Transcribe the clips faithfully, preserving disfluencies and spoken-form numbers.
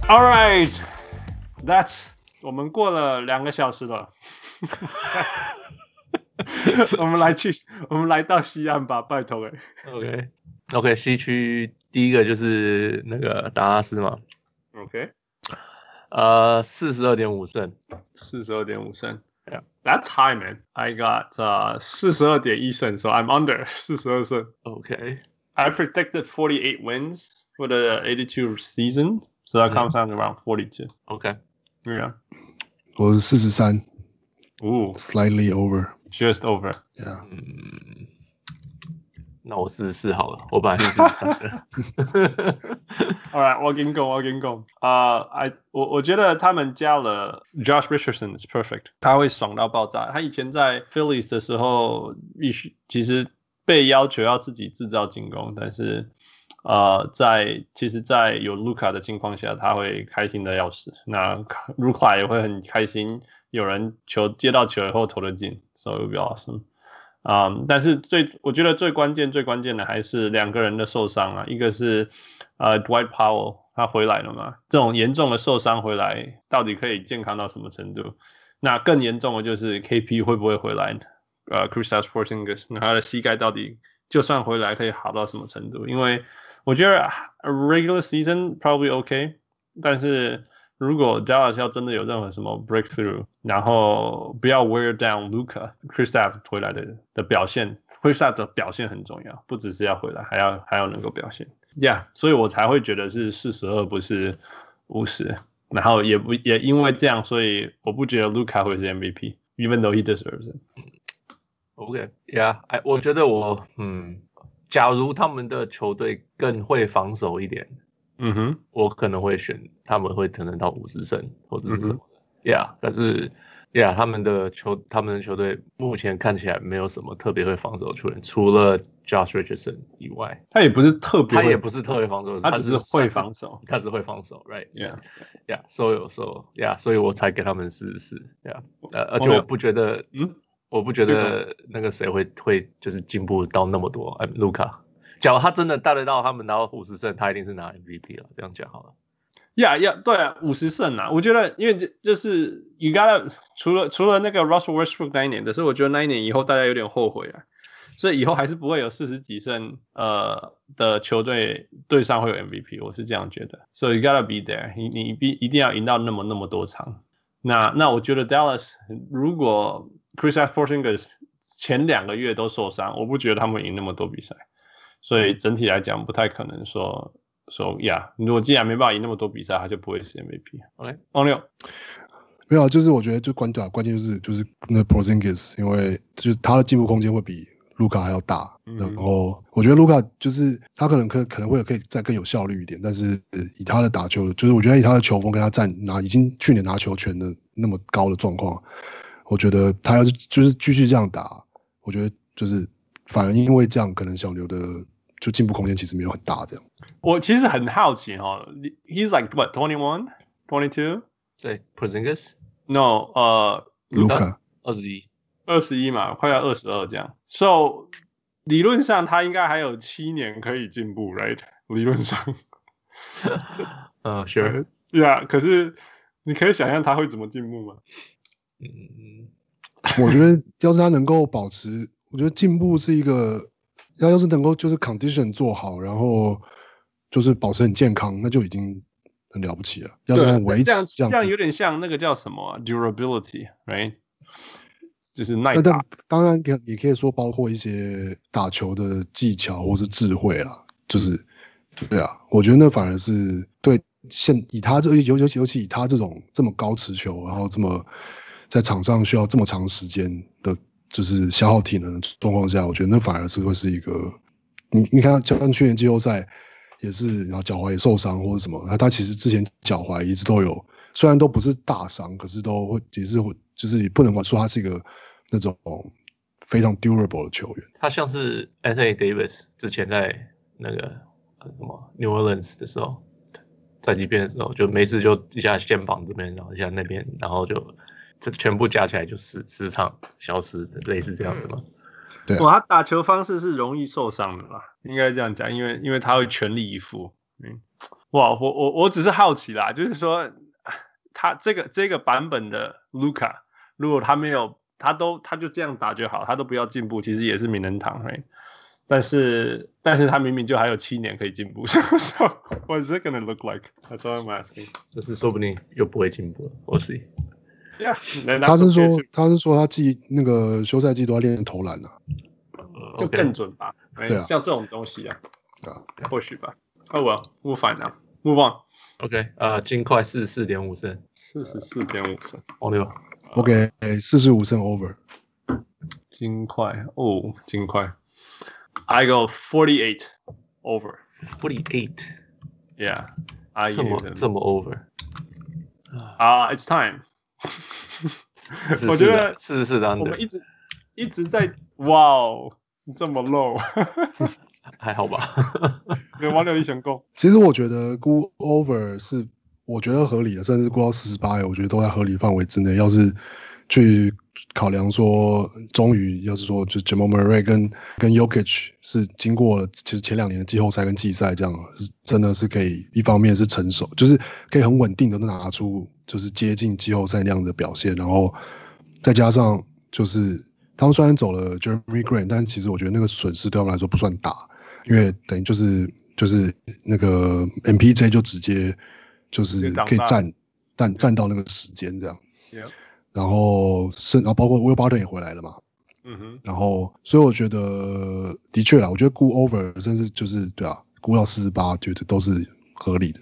All right, that's 我們過了兩個小時了。我們來去，我們來到西岸吧，拜託哎。 OK OK， 西區第一個就是那個達拉斯嘛。 OK， 呃，四十二點五勝， 四十二點五勝。 Yeah, that's high, man. I got 呃四十二點一勝 ，so I'm under 四十二勝。 OK, I predicted forty-eight wins for the eighty-two season, so that comes out around forty-two. OK, yeah. 我是四十三。 Ooh, slightly over. Just over. Yeah. 嗯，那我四十四好了，我本來是四十三的。 All right, 我跟你講，我跟你講，啊、uh, ，I 我我覺得他們加了 Josh Richardson is perfect， 他會爽到爆炸。他以前在 Phillies 的時候，必須其實被要求要自己製造進攻，但是呃，在其實，在有 Luka 的情況下，他會開心的要死。那 Luka 也會很開心，有人球接到球以後投得進 ，so it would be awesome。Um, 但是最我覺得最關鍵最關鍵的還是兩個人的受傷啊，一個是呃 Dwight Powell 他回來了嘛，這種嚴重的受傷回來到底可以健康到什麼程度？那更嚴重的就是 K P 會不會回來？呃 Kristaps Porzingis 那他的膝蓋到底就算回來可以好到什麼程度？因為我覺得 regular season probably OK， 但是如果 Dallas 要真的有任何什麼 breakthrough， 然後不要 wear down Luka Kristaps 回來 的, 的表現 Kristaps 的表現很重要，不只是要回來，還要還要能夠表現 Yeah， 所以我才會覺得是四十二不是五十，然後也不也因為這樣，所以我不覺得 Luka 會是 M V P even though he deserves it。 OK Yeah， 我覺得我嗯，假如他們的球隊更會防守一點， 嗯哼， 我可能會選他們會可能到五十勝或者是什麼的、嗯、，Yeah， 但是 Yeah， 他們的球他們的球隊目前看起來沒有什麼特別會防守的球員，除了 Josh Richardson 以外， 他也不是特別， 他也不是特別防守， 他只是會防守， 他只會防守 ，Right？Yeah，Yeah，So yeah. So Yeah， 所以我才給他們四十四 ，Yeah， 呃，而且我不覺得，嗯，我不覺得那個誰會會就是進步到那麼多，哎，盧卡。假如他真的帶得到他們拿到五十勝，他一定是拿 M V P 了。這樣講好了。 呀呀，對啊，五十勝啊！我覺得，因為就就是你剛才除了除了那個 Russell Westbrook 那一年，但是我覺得那一年以後大家有點後悔啊，所以以後還是不會有四十幾勝呃的球隊隊上會有 M V P， 我是這樣覺得。So you gotta be there， 你你必一定要贏到那麼那麼多場。那那我覺得 Dallas 如果 Kristaps Porzingis 前兩個月都受傷，我不覺得他們贏那麼多比賽。所以整體來講，不太可能說說呀，如果既然沒辦法贏那麼多比賽，他就不會是 M V P。OK， 王六， 沒有，就是我覺得最關鍵關鍵就是就是那 Porzingis， 因為就是他的進步空間會比盧卡還要大。嗯、然後我覺得盧卡就是他可能可可能會可以再更有效率一點，但是以他的打球，就是我覺得以他的球風跟他站拿已經去年拿球權的那麼高的狀況，我覺得他要是就是繼續這樣打，我覺得就是反而因為這樣，可能小牛的就進步空間其實沒有很大。這樣， 我其實很好奇哈 ，He's like what twenty-one, twenty-two？ 對 Porzingis No， 呃， 盧卡二十一， 二十一嘛，快要二十二這樣。So 理論上他應該還有七年可以進步 ，right？ 理論上， 呃、uh, ，Sure，Yeah， 可是你可以想象他會怎麼進步嗎？ 嗯， 我覺得要是他能夠保持。我覺得進步是一個，要要是能夠就是 condition 做好，然後就是保持很健康，那就已經很了不起了。要是能維持這樣，這樣， 這樣有點像那個叫什麼、啊、durability，right？ 就是耐打。 但當然也可以說包括一些打球的技巧或是智慧啦，就是對啊，我覺得那反而是對現以他這尤尤其尤其以他這種這麼高持球，然後這麼在場上需要這麼長時間的。就是消耗體能的狀況下，我覺得那反而是會是一個，你你看，像去年季後賽也是，然後腳踝也受傷或者什麼，他他其實之前腳踝一直都有，雖然都不是大傷，可是都會也是會，就是你不能說他是一個那種非常 durable 的球員。 他像是 Anthony Davis 之前在那個什麼 New Orleans 的時候，在這邊的時候，就沒事就一下肩膀這邊，然後一下那邊，然後就。這全部加起來就十十場消失的，類似這樣子嗎？ 對、啊， 哇，他打球方式是容易受傷的吧？應該這樣講，因為因為他會全力以赴。嗯哇，我我我只是好奇啦，就是說他這個這個版本的 Luka， 如果他沒有，他都他就這樣打就好，他都不要進步，其實也是名人堂，right？但是但是他明明就還有七年可以進步 ，so what is it gonna look like? That's all I'm asking. 但是說不定又不會進步了，我 see. Yeah， 他是說他是說他季那個休賽季都要練投籃啊， 就更準吧？ 對啊， 像這種東西啊， 對啊， 或許吧。Oh well, move on now. Move on. OK， 呃，金塊四十四點五勝， 四十四點五勝。 王六 ，OK， 四十五勝 over。 金塊哦，金塊。I go forty-eight over. forty-eight. Yeah. I 這麼這麼 over. 啊、uh, ，It's time. 我覺得四十四當我們一直一直在哇哦，這麼 low 。 還好吧？ 有王六一選攻。 其實我覺得估 over 是我覺得合理的，甚至估到四十八，我覺得都在合理範圍之內。要是去考量說，終於要是說，就 Jamal Murray 跟跟 Jokic 是經過了其實前兩年的季後賽跟季賽，這樣是真的是可以一方面是成熟，就是可以很穩定的拿出就是接近季後賽那樣的表現，然後再加上就是他們雖然走了 Jeremy Grant， 但其實我覺得那個損失對他們來說不算大，因為等於就是就是那個 M P J 就直接就是可以占占占到那個時間這樣。 Yeah. 然後是，然後包括 Will Barton 也回來了嘛， 嗯哼， 然後所以我覺得的確啦，我覺得估 over 甚至就是對啊，估到四十八，覺得都是合理的。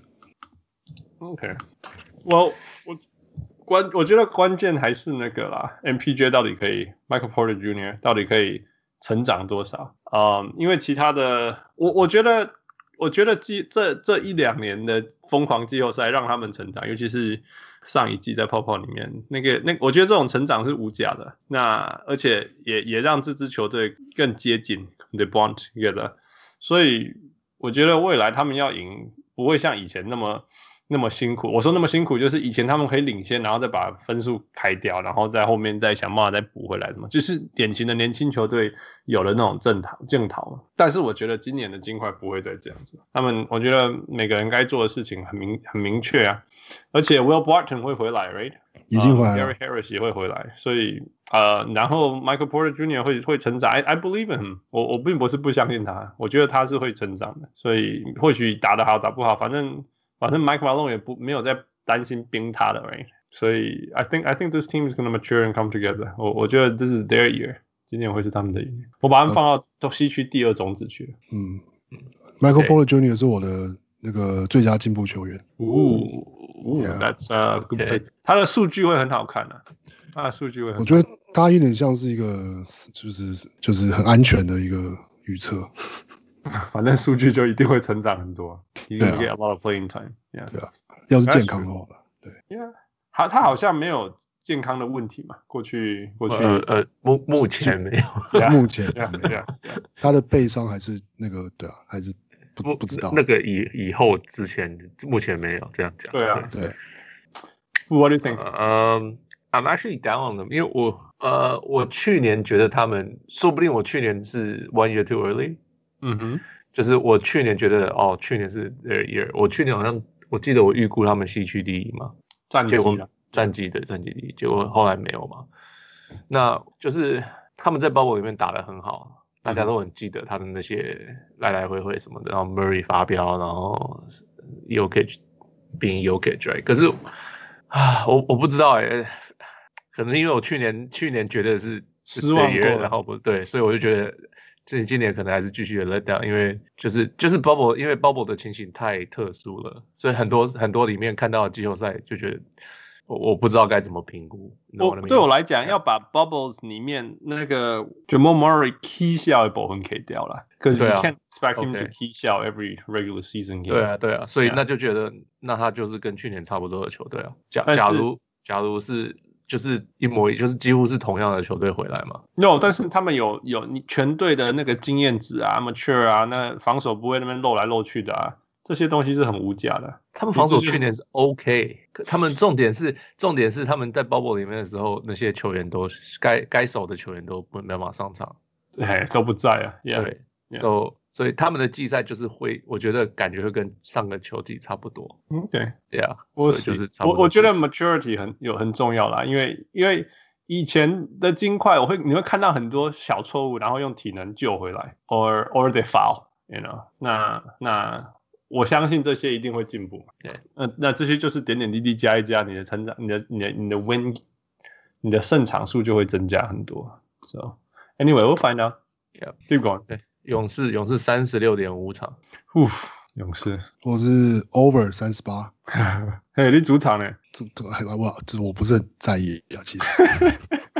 OK， 我我關我覺得關鍵還是那個啦 ，M P J 到底可以 ，Michael Porter Junior 到底可以成長多少？啊、um, 因為其他的，我我覺得我覺得季這這一兩年的瘋狂季後賽讓他們成長，尤其是。上一季在泡泡裡面，那個那我覺得這種成長是無價的。那而且也也讓這支球隊更接近 the bond together。所以我覺得未來他們要贏，不會像以前那麼那麼辛苦。我說那麼辛苦，就是以前他們可以領先，然後再把分數開掉，然後在後面再想辦法再補回來，什麼就是典型的年輕球隊有了那種正逃正逃。但是我覺得今年的金塊不會再這樣子。他們我覺得每個人該做的事情很明很明確啊。而且 Will Barton 會回來 ，right？ 已經回來了。 uh, Gary Harris 也會回來，所以呃，然後 Michael Porter Junior 會會成長。I I believe in him 我。我我並不是不相信他，我覺得他是會成長的。所以或許打得好打不好，反正反正 Mike Malone 也不沒有在擔心冰他的 ，right？ 所以 I think I think this team is going to mature and come together 我。我我覺得 this is their year， 今年會是他們的一年。我把他們放到西區第二種子去了。 嗯，Michael Porter Junior 是我的那個最佳進步球員。 哦。Ooh, yeah. That's a good pick. 他的數據會很好看啊，他的數據會很好看。 我覺得他有點像是一個，就是就是很安全的一個預測。 反正數據就一定會成長很多。He's gonna get a lot of playing time. Yeah. 對啊，要是健康的話，對。 Yeah. 他他好像沒有健康的問題嘛，過去過去呃呃目目前沒有， yeah. 目前 yeah. Yeah. Yeah. 他的背傷還是那個對啊，還是。不, 不知道那個以以後之前目前沒有這樣講。 對啊， 對。 What do you think? 呃、uh, ，I'm actually down on them， 因為我呃我去年覺得他們，說不定我去年是 one year too early。 嗯哼， 就是我去年覺得哦，去年是 their year， 我去年好像我記得我預估他們西區第一嘛， 戰績啊， 戰績的戰績第一，結果後來沒有嘛。那就是他們在 bubble 裡面打得很好。大家都很記得他的那些來來回回什麼的，然後 Murray 發飆，然後 Jokic 變 Jokic，right？ 可是啊，我我不知道哎、欸，可能因為我去年去年覺得是失望過， 然後不對，所以我就覺得這今年可能還是繼續的 let down， 因為就是就是 bubble， 因為 bubble 的情形太特殊了，所以很多很多裡面看到的季後賽就覺得。我我不知道該怎麼評估。 我對我來講，要把 bubbles 裡面那個 Jamal Murray key 笑的部分 K 掉了，可是 you can't expect him to key 笑 every regular season game。 對啊，對啊，所以那就覺得，那他就是跟去年差不多的球隊啊。假假如假如是就是一模一，就是幾乎是同樣的球隊回來嘛。 No， 但是他們有有你全隊的那個經驗值啊 ，mature 啊，那防守不會那邊漏來漏去的啊。這些東西是很無價的。 他們防守去年是 OK， 可他們重點是重點是他們在 bubble 裡面的時候，那些球員都該該守的球員都沒辦法上場， 對，都不在啊。Yeah, 對 yeah. ，so 所以他們的季賽就是會，我覺得感覺會跟上個球季差不多。 OK， 對啊， 我就是差不多。 我我覺得 maturity 很有很重要啦，因為因為以前的金塊，我會你會看到很多小錯誤，然後用體能救回來 ，or or they foul，you know，那那我相信這些一定會進步。 對， 那那這些就是點點滴滴加一加，你的成長，你的你的你的 win， 你的勝場數就會增加很多。So anyway, we'll find out. Yeah, keep going. 對，勇士勇士三十六點五場。 呼，勇士， 我是 over 三十八。 嘿，你主場呢？ 这这我这我不是很在意啊，其實。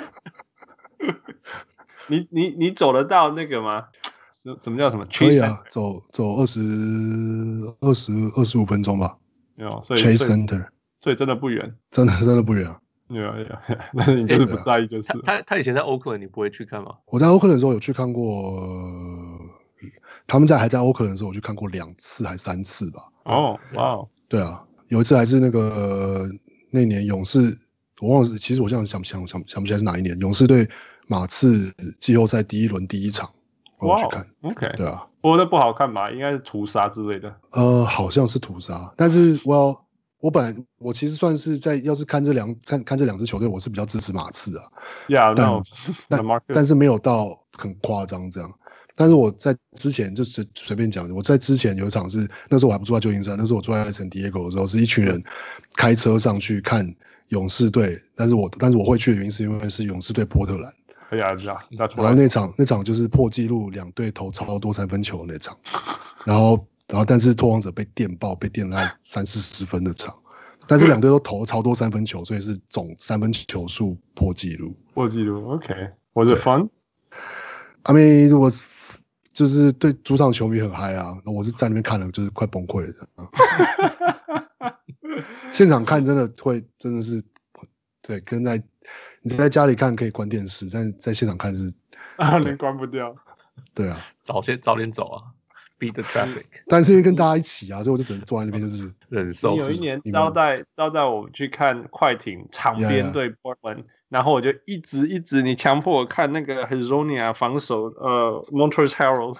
你你你走得到那個嗎？什什麼叫什麼？ 可以啊，走走二十二十二十五分鐘吧。 有，所以 Chase Center， 所以真的不遠， 真的真的不遠啊。 有有，但是你就是不在意就是。 他他以前在 Oakland， 你不會去看嗎？ 我在 Oakland 的時候有去看過，他們在還在 Oakland 的時候，我去看過兩次還三次吧。 哦，哇， 對啊，有一次還是那個、呃、那年勇士，我忘了，其實我現在想想想想不起來是哪一年，勇士對馬刺季後賽第一輪第一場，我有去看。 Wow, OK， 對啊， 播的不好看吧？應該是屠殺之類的。呃， 好像是屠殺，但是我要。我本來我其實算是在要是看這兩看看這兩支球隊，我是比較支持馬刺啊。 Yeah, 但 no, 但但是沒有到很誇張這樣。但是我在之前就隨隨便講，我在之前有一場是那時候我還不住在舊金山，那時候我住在聖地亞哥的時候，是一群人開車上去看勇士隊，但是我但是我會去的原因是因為是勇士隊波特蘭。 哎呀，這樣， 然後那場那場就是破紀錄，兩隊投超多三分球的那場，然後。然後，但是拓荒者被電爆，被電了三四十分的場，但是兩隊都投了超多三分球，所以是總三分球數破紀錄。 破紀錄 ，OK。Was it fun? I mean, 我就是對主場球迷很嗨啊，我是在那邊看了，就是快崩潰了。現場看真的會，真的是，對，跟在你在家裡看可以關電視，但是在現場看是啊，你關不掉。 對啊， 早些早點走啊。Beat the traffic， 但是因為跟大家一起啊，所以我就只能坐在那邊，就是忍受。 有一年招待招待我去看快艇場邊對 Portland， 然後我就一直一直你強迫我看那個 Hezonja 防守呃 Montrezl Harrell，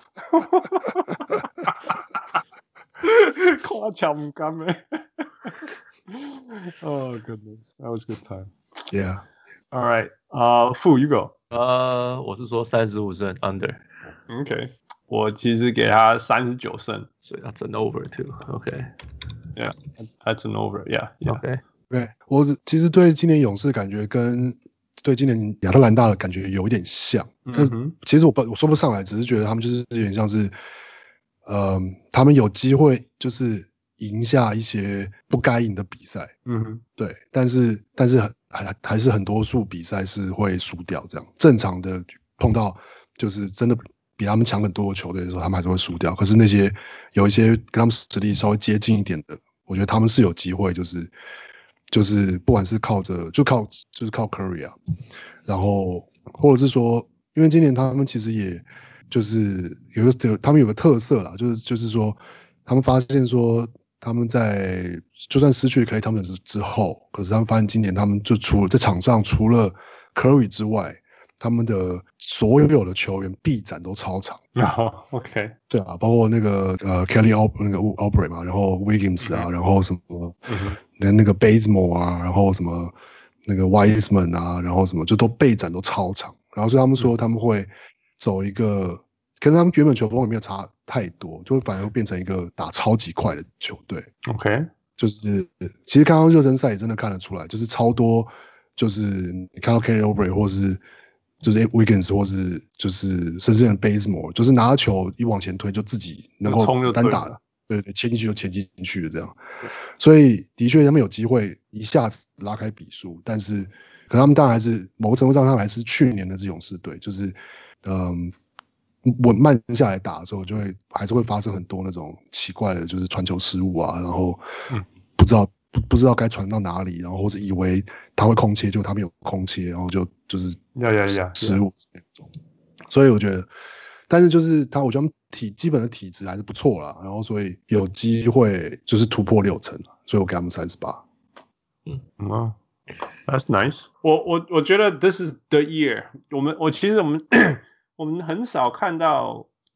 誇獎唔甘誒。Oh goodness, that was a good time. Yeah. All right. 啊、uh, ，Fu you go. 呃，我是說三十五勝 under。OK。 我其實給他三十九勝， 所以要整 over too。OK，yeah， that's an over，yeah， OK， 對，我其實對今年勇士感覺跟對今年亞特蘭大的感覺有一點像，嗯、但其實我不我說不上來，只是覺得他們就是有點像是，呃，他們有機會就是贏下一些不該贏的比賽，嗯哼，對，但是但是還還是很多數比賽是會輸掉，這樣正常的碰到就是真的。比他們強很多的球隊的時候，他們還是會輸掉。可是那些有一些跟他們實力稍微接近一點的，我覺得他們是有機會，就是就是不管是靠着就靠就是靠 Curry 啊，然後或者是說，因為今年他們其實也就是有一個他們有個特色啦，就是就是說他們發現說他們在就算失去 Klay Thompson 之後，可是他們發現今年他們就除了在場上除了 Curry 之外。他們的所有的球員臂展都超長。 哦 OK， 對啊，包括那個呃 Kelly Oubre 那個 Oubre 嘛，然後 Wiggins 啊，嗯、然後什麼，連、嗯、那個 Bazemore 啊，然後什麼那個 Wiseman 啊，然後什麼就都臂展都超長。然後所以他們說他們會走一個，嗯、跟他們原本球風也沒有差太多，就反而會變成一個打超級快的球隊。OK， 就是其實剛剛熱身賽也真的看得出來，就是超多，就是你看到 Kelly Oubre 或是。就是 Wiggins 或是就是甚至連 Bazemore， 就是拿球一往前推就自己能夠單打，對對，切進去就切進去的這樣。所以的確他們有機會一下子拉開比數，但是可能他們當然還是某個程度上他們還是去年的這勇士隊，就是嗯穩慢下來打的時候，就會還是會發生很多那種奇怪的，就是傳球失誤啊，然後不知道。不, 不知道該傳到哪裡，然後或者以為他會空切，就他沒有空切，然後就就是失誤那種。所以我覺得，但是就是他，我覺得他們體基本的體質還是不錯啦，然後所以有機會就是突破六成，所以我給他們三十八。 嗯嗯 ，That's nice 我。我我我覺得 This is the year 我。我們我其實我們我們很少看到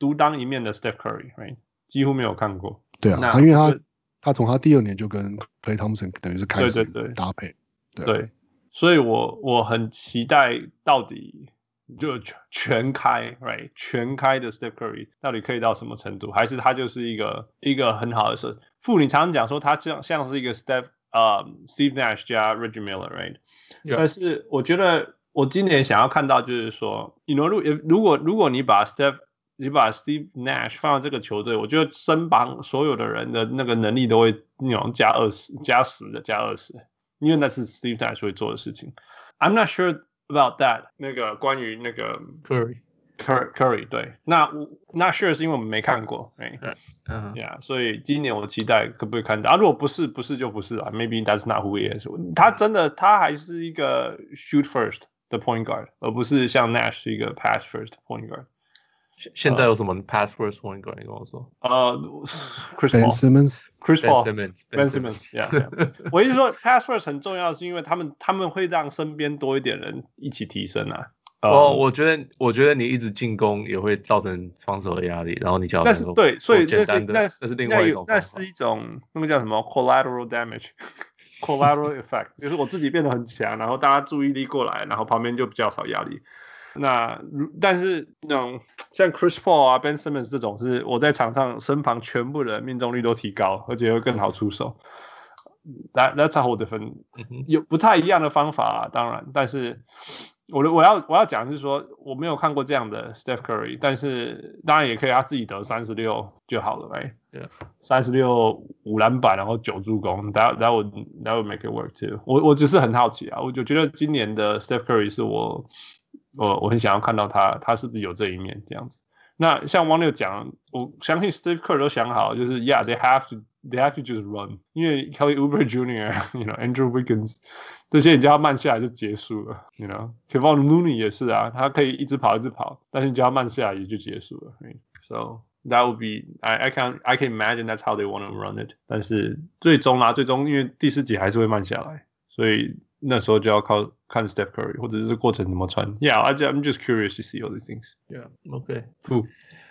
獨當一面的 Steph Curry，right？ 幾乎沒有看過。 對啊，他因為他他從他第二年就跟 Klay Thompson 等於是開始搭配。 對，對，對，對，所以我我很期待到底就全開 ，right？ 全開的 Steph Curry 到底可以到什麼程度？還是他就是一個一個很好的設？傅，你常常講說他像像是一個 Steph 呃、um, Steve Nash 加 Reggie Miller，right？、Yeah. 但是我覺得我今年想要看到就是說 ，you know， 如如果如果你把 Steph 你把 Steve Nash 放到這個球隊，我覺得身旁所有的人的那個能力都會那種加二十、加十的加二十，因為那是 Steve Nash 會做的事情。I'm not sure about that。那個關於那個 Curry Curry Curry 對，那 not sure 是因為我們沒看過，哎、right? 嗯、uh huh. ，Yeah， 所以今年我期待可不可以看到啊？如果不是，不是就不是啊。Maybe that's not who he is。他真的他還是一個 shoot first 的 point guard， 而不是像 Nash 是一個 pass first point guard。 現在有什麼 pass first point guard？你跟我說。 呃 ，Chris Ben Simmons。Chris Paul。 Ben Simmons。Ben Simmons。Yeah。我意思說 pass first 很重要，是因為他們他們會讓身邊多一點人一起提升啊。 哦，我覺得我覺得你一直進攻也會造成防守的壓力，然後你只要那是對，所以簡單的那那是另外一種， 那是一種那個叫什麼 collateral damage。collateral effect 就是我自己變得很強，然後大家注意力過來，然後旁邊就比較少壓力。那但是那種像 Chris Paul 啊 Ben Simmons 這種，是我在場上身旁全部的命中率都提高，而且會更好出手。That that's a whole different， 有不太一樣的方法啊，當然，但是我的我要我要講的是說，我沒有看過這樣的 Steph Curry， 但是當然也可以他自己得三十六就好了，哎，對，三十六五籃板，然後九助攻 ，that that would that would make it work too。我我只是很好奇啊，我就覺得今年的 Steph Curry 是我。我我很想要看到他，他是不是有這一面這樣子？那像汪六講，我相信 Steve Kerr 都想好，就是 Yeah, they have to, they have to just run， 因為 Kelly Oubre Junior，you know, Andrew Wiggins 這些你叫他慢下來就結束了 ，you know, Kevon Looney 也是啊，他可以一直跑一直跑，但是你叫他慢下來也就結束了。Right? So that would be, I I can I can imagine that's how they want to run it。但是最終啦，最終因為第四節還是會慢下來，所以。那時候就要靠看 Steph Curry， 或者是過程怎麼穿。Yeah, I, I'm just curious to see all these things. Yeah, okay. Who?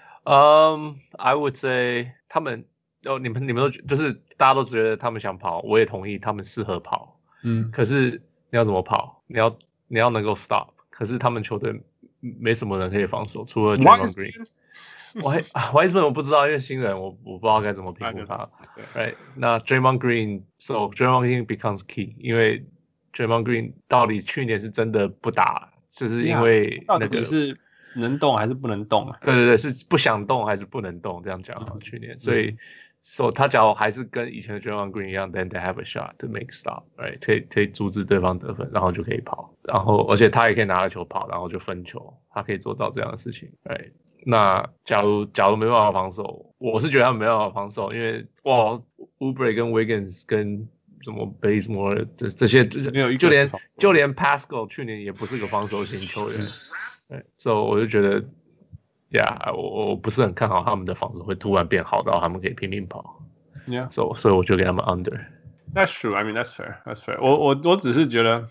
Um, I would say 他們哦，你們你們都就是大家都覺得他們想跑，我也同意他們適合跑。嗯，可是你要怎麼跑？你要你要能夠 stop。可是他們球隊沒什麼人可以防守，除了 Draymond Green。我還 Wiseman 我不知道，因為新人我我不知道該怎麼評估他。Right？ 那 Draymond Green，so Draymond Green becomes key， 因為Draymond Green 到底去年是真的不打，就是因為那個是能動還是不能動啊？ 對對对，是不想動還是不能動？這樣講啊，去年，所以 so 他假如還是跟以前的 Draymond Green 一樣 ，then they have a shot to make stop，right？ 可以可以阻止對方得分，然後就可以跑，然後而且他也可以拿着球跑，然後就分球，他可以做到這樣的事情，right？ 那假如假如沒辦法防守，我是覺得他們沒辦法防守，因為哇 ，Oubre 跟 Wiggins 跟什麼 Bazemore 這這些就連就連 Pascal 去年也不是個防守型球員，對，所以我就覺得，呀，我我不是很看好他們的防守會突然變好到他們可以拼命跑 ，Yeah， 所以所以我就給他們 under。 That's true. I mean, that's fair. That's fair. 我我我只是覺得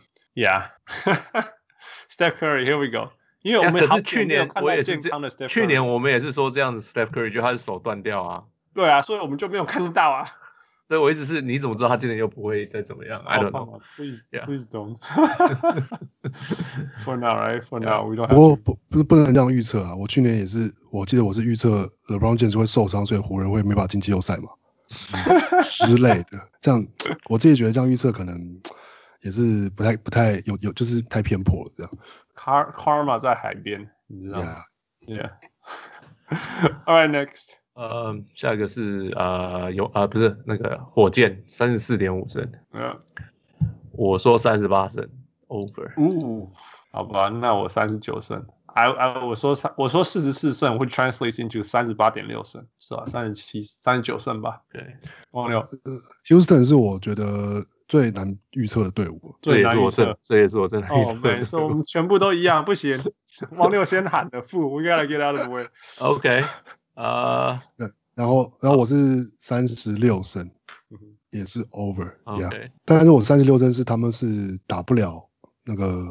，Yeah，Steph Curry，here we go。因為我們可是去年我也是去年我們也是說這樣子 Steph Curry 就他是手斷掉啊。 對啊，所以我們就沒有看到啊。 所以我一直是，你怎麼知道他今年又不會再怎麼樣 ？I don't know. Please, yeah. please don't. For now, right? For now, we don't. 不過不不不能這樣預測啊！我去年也是，我記得我是預測 LeBron James 會受傷，所以湖人會沒辦法進季後賽嘛之類的。這樣我自己覺得這樣預測可能也是不太不太有有就是太偏頗了。這樣。 Car Karma 在海邊，你知道嗎 ？Yeah. Yeah. All right, next. 呃，下一個是呃有呃不是那個火箭三十四點五勝， 嗯， 我說三十八勝 over， 嗚，好吧，那我三十九勝 ，I I 我說三我說四十四勝會 translate into 三十八點六勝，是吧？三十七三十九勝吧，對，王六 ，Houston 是我覺得最難預測的隊伍， 這也是我真這也是我真的預測的，所以我們全部都一樣，不行，王六先喊的負 ，We gotta get out of the way，OK。 呃， 對，然後，然後我是三十六勝，也是 over， okay. yeah. 但是我三十六勝是他們是打不了那個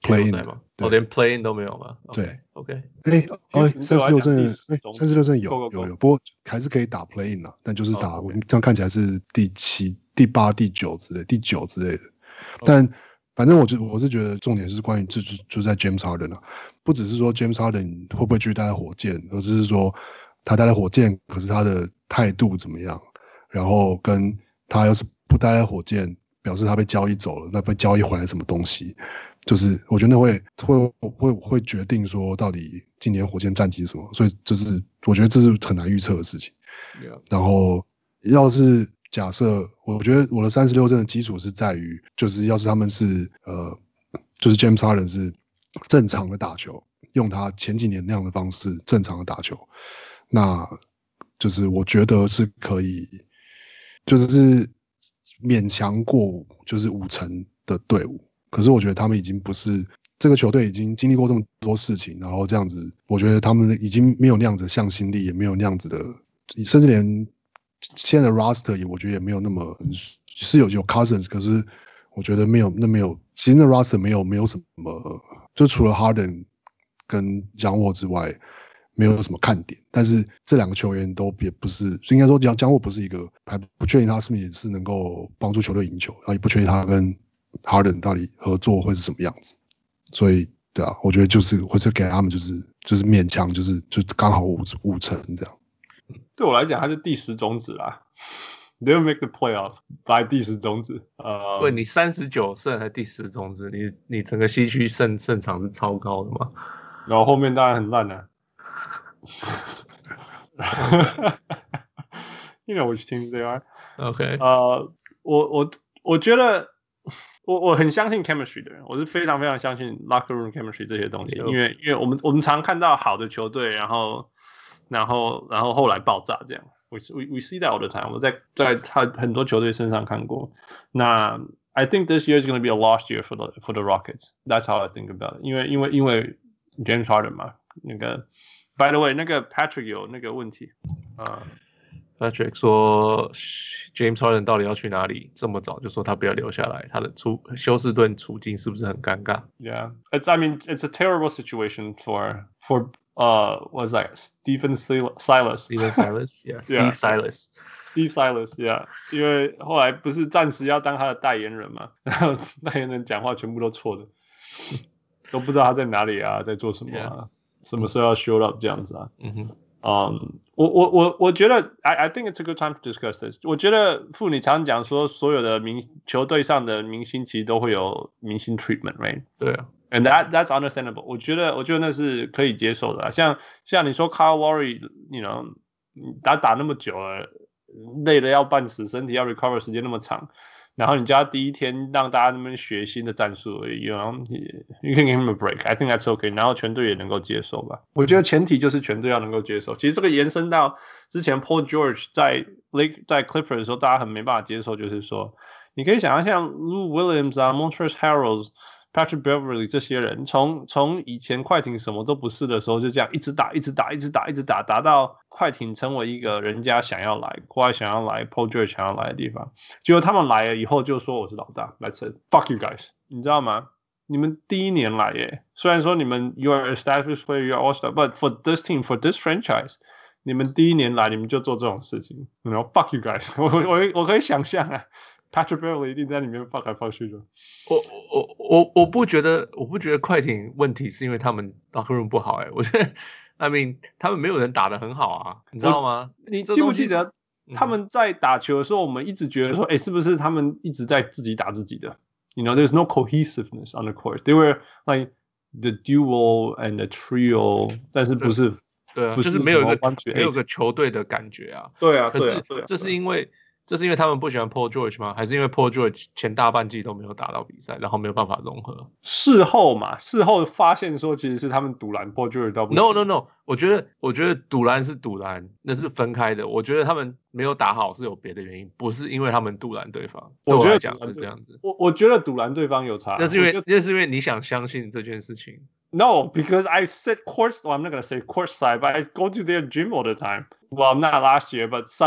play in 嗎？哦，連 play in 都沒有嗎？ 對 ，OK， 哎，哦，三十六胜，哎，三十六勝有 go, go, go. 有有，不過還是可以打 play in 啊，但就是打， oh, okay. 我這樣看起來是第七、第八、第九之類，第九之類的。但反正我就我是覺得重點是關於就就就在 James Harden 啊，不只是說 James Harden 會不會繼續待在火箭，而是說他待在火箭，可是他的態度怎麼樣？然後跟他要是不待在火箭，表示他被交易走了，那被交易回來什麼東西？就是我覺得那會會會會決定說到底今年火箭戰績是什麼，所以就是我覺得這是很難預測的事情。 Yeah. 然後要是假設，我覺得我的三十六勝的基礎是在於，就是要是他們是呃，就是 James Harden 是正常的打球，用他前幾年那樣的方式正常的打球，那就是我覺得是可以，就是勉強過就是五成的隊伍。可是我覺得他們已經不是這個球隊，已經經歷過這麼多事情，然後這樣子，我覺得他們已經沒有那樣子的向心力，也沒有那樣子的，甚至連現在的 roster 也，我覺得也沒有那麼是有有 Cousins， 可是我覺得沒有那沒有，其實那 roster 沒有沒有什麼，就除了 Harden 跟江沃之外，沒有什麼看點。但是這兩個球員都也不是，應該說江江沃不是一個，還不確定他是不是也是能夠幫助球隊贏球，然後也不確定他跟Harden 到底合作會是什麼樣子，所以對啊，我覺得就是或者給他們就是就是勉強就是就剛好五五成這樣。 對我來講，他是第十種子啦 ，They will make the playoff by 第十種子。呃， 對，你三十九勝還第十種子，你你整個西區勝勝場是超高的嘛？ 然後後面當然很爛啊。You know which teams they are. OK， 呃，我我我覺得。我我很相信 chemistry 的人，我是非常非常相信 locker room chemistry 這些東西，因為因為我們我們常看到好的球隊，然後然後然後後來爆炸這樣 ，we we we see that all the time， 我在在他很多球隊身上看過。那 I think this year is going to be a lost year for the for the Rockets. That's how I think about it. 因為因為因為 James Harden 嘛，那個 by the way 那個 Patrick 有那個問題啊。 Patrick 說 James Harden 到底要去哪裡？這麼早就說他不要留下來，他的處休斯頓處境是不是很尷尬 ？Yeah, it's I mean it's a terrible situation for for uh what's that Stephen Silas Stephen Silas yeah Steve yeah. Silas Steve Silas yeah， 因為後來不是暫時要當他的代言人嘛，然後代言人講話全部都錯的，都不知道他在哪裡啊，在做什麼啊， yeah. 什麼時候要 show up 這樣子啊？嗯哼。嗯、um, ，我我我我覺得 I I think it's a good time to discuss this。我覺得傅你常常講說，所有的明球隊上的明星其實都會有明星 treatment，right？ 對啊 ，and that that's understandable。我覺得我覺得那是可以接受的。像像你說 Kyle Lowry，you know， 打打那麼久了，累得要半死，身體要 recover 時間那麼長。然後你叫他第一天讓大家那邊學新的戰術而已 ，you know, you can give him a break. I think that's okay. 然後全隊也能夠接受吧。我覺得前提就是全隊要能夠接受。其實這個延伸到之前 Paul George 在 Lake 在 Clippers 的時候，大家很沒辦法接受，就是說，你可以想象像 Lou Williams 啊 Montrezl Harrell、Patrick Beverly 這些人，從從以前快艇什麼都不是的時候，就這樣一直打，一直打，一直打，一直打，打到快艇成為一個人家想要來、國外想要來、Paul George 想要來的地方。結果他們來了以後就說我是老大 ，Let's say fuck you guys， 你知道嗎？你們第一年來耶，雖然說你們 you are established player, you are all star，but for this team, for this franchise， 你們第一年來你們就做這種事情，然後 fuck you guys， 我我我可以想象啊。Patrick Beverly 一定在裡面放來放去的。 我我我我不覺得，我不覺得快艇問題是因為他們 locker room 不好哎、欸，我覺得 I mean 他們沒有人打得很好啊，你知道嗎？ 你記不記得他們在打球的時候，我們一直覺得說，哎、欸，是不是他們一直在自己打自己的 ？You know, there's no cohesiveness on the court. They were like the duo and the trio， 但是不是对啊，不是就是沒有一個沒有個球隊的感覺啊。 對啊， 可是這是因為。這是因為他們不喜歡 Paul George 嗎？還是因為 Paul George 前大半季都沒有打到比賽，然後沒有辦法融合？ 事後嘛，事後發現說其實是他們賭爛 Paul George 到不行。 No No No， 我覺得我覺得賭爛是賭爛，那是分開的。我覺得他們沒有打好是有別的原因，不是因為他們賭爛對方。 我覺得對我來講是這樣子。 我我覺得賭爛對方有差， 那是因為那是因為你想相信這件事情。 No, because I sit court. Well, I'm not gonna say court side, but I go to their gym all the time. Well, not last year, but some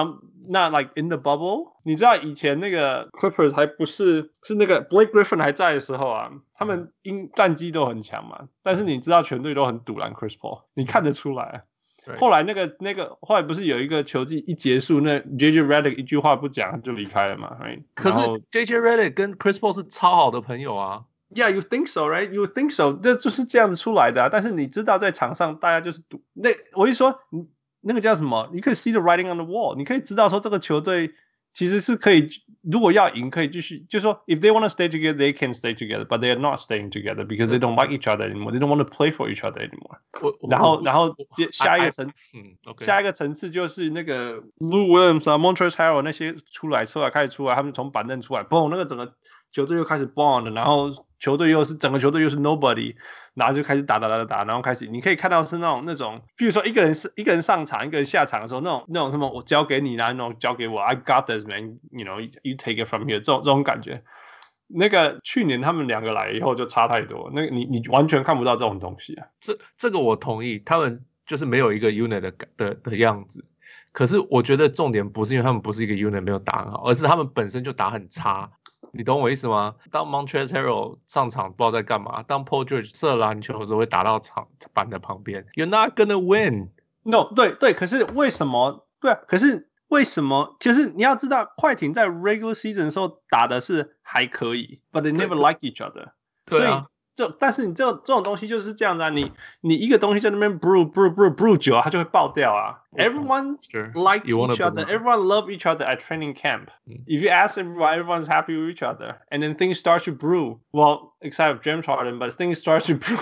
那 like in the bubble， 你知道以前那個 Clippers 還不是是那個 Blake Griffin 還在的時候啊，他們因戰績都很強嘛，但是你知道全隊都很賭爛 Chris Paul， 你看得出來。後來那個那個後來不是有一個球季一結束，那 J J Redick 一句話不講就離開了嘛 ，right？ 可是 J J Redick 跟 Chris Paul 是超好的朋友啊。 Yeah, you think so, right? You think so？ 這就是這樣子出來的啊。但是你知道在場上大家就是賭，那我一說你那個叫什麼？你可以 see the writing on the wall， 你可以知道說這個球隊其實是可以，如果要贏可以繼續，就是說 if they want to stay together, they can stay together, but they are not staying together because they don't like each other anymore. They don't want to play for each other anymore. 然後然後接下一個層，嗯 ，okay. 下一個層次就是那個 Lou Williams 啊 Montrezl Harrell 那些出來出來開始出來，他們從板凳出來，嘣，那個整個球隊又開始 bond 了，然後球隊又是整個球隊又是 nobody， 然後就開始打打打打打，然後開始你可以看到是那種那種，比如說一個人是一個人上場，一個人下場的時候，那種那種什麼我交給你，然後那種交給我 ，I got this man，you know you take it from here， 這種這種感覺。那個去年他們兩個來以後就差太多，那個你你完全看不到這種東西啊。 這這個我同意，他們就是沒有一個 unit 的的的樣子。可是我覺得重點不是因為他們不是一個 unit 沒有打很好，而是他們本身就打很差。你懂我意思嗎？當 Montrezl Harrell 上場不知道在幹嘛，當 Paul George 射籃球的時候會打到場板的旁邊 ，You're not gonna win。No， 對對，可是為什麼？對啊，可是為什麼？其實你要知道，快艇在 regular season 的時候打的是還可以 ，but they never liked each other。 對啊。 就但是你這種這種東西就是這樣子啊，你你一個東西在那邊 brew brew brew brew 久，它就會爆掉啊。Everyone like each other, everyone love each other at training camp. If you ask everyone, everyone's happy with each other, and then things start to brew. Well, except James Harden, but things start to brew.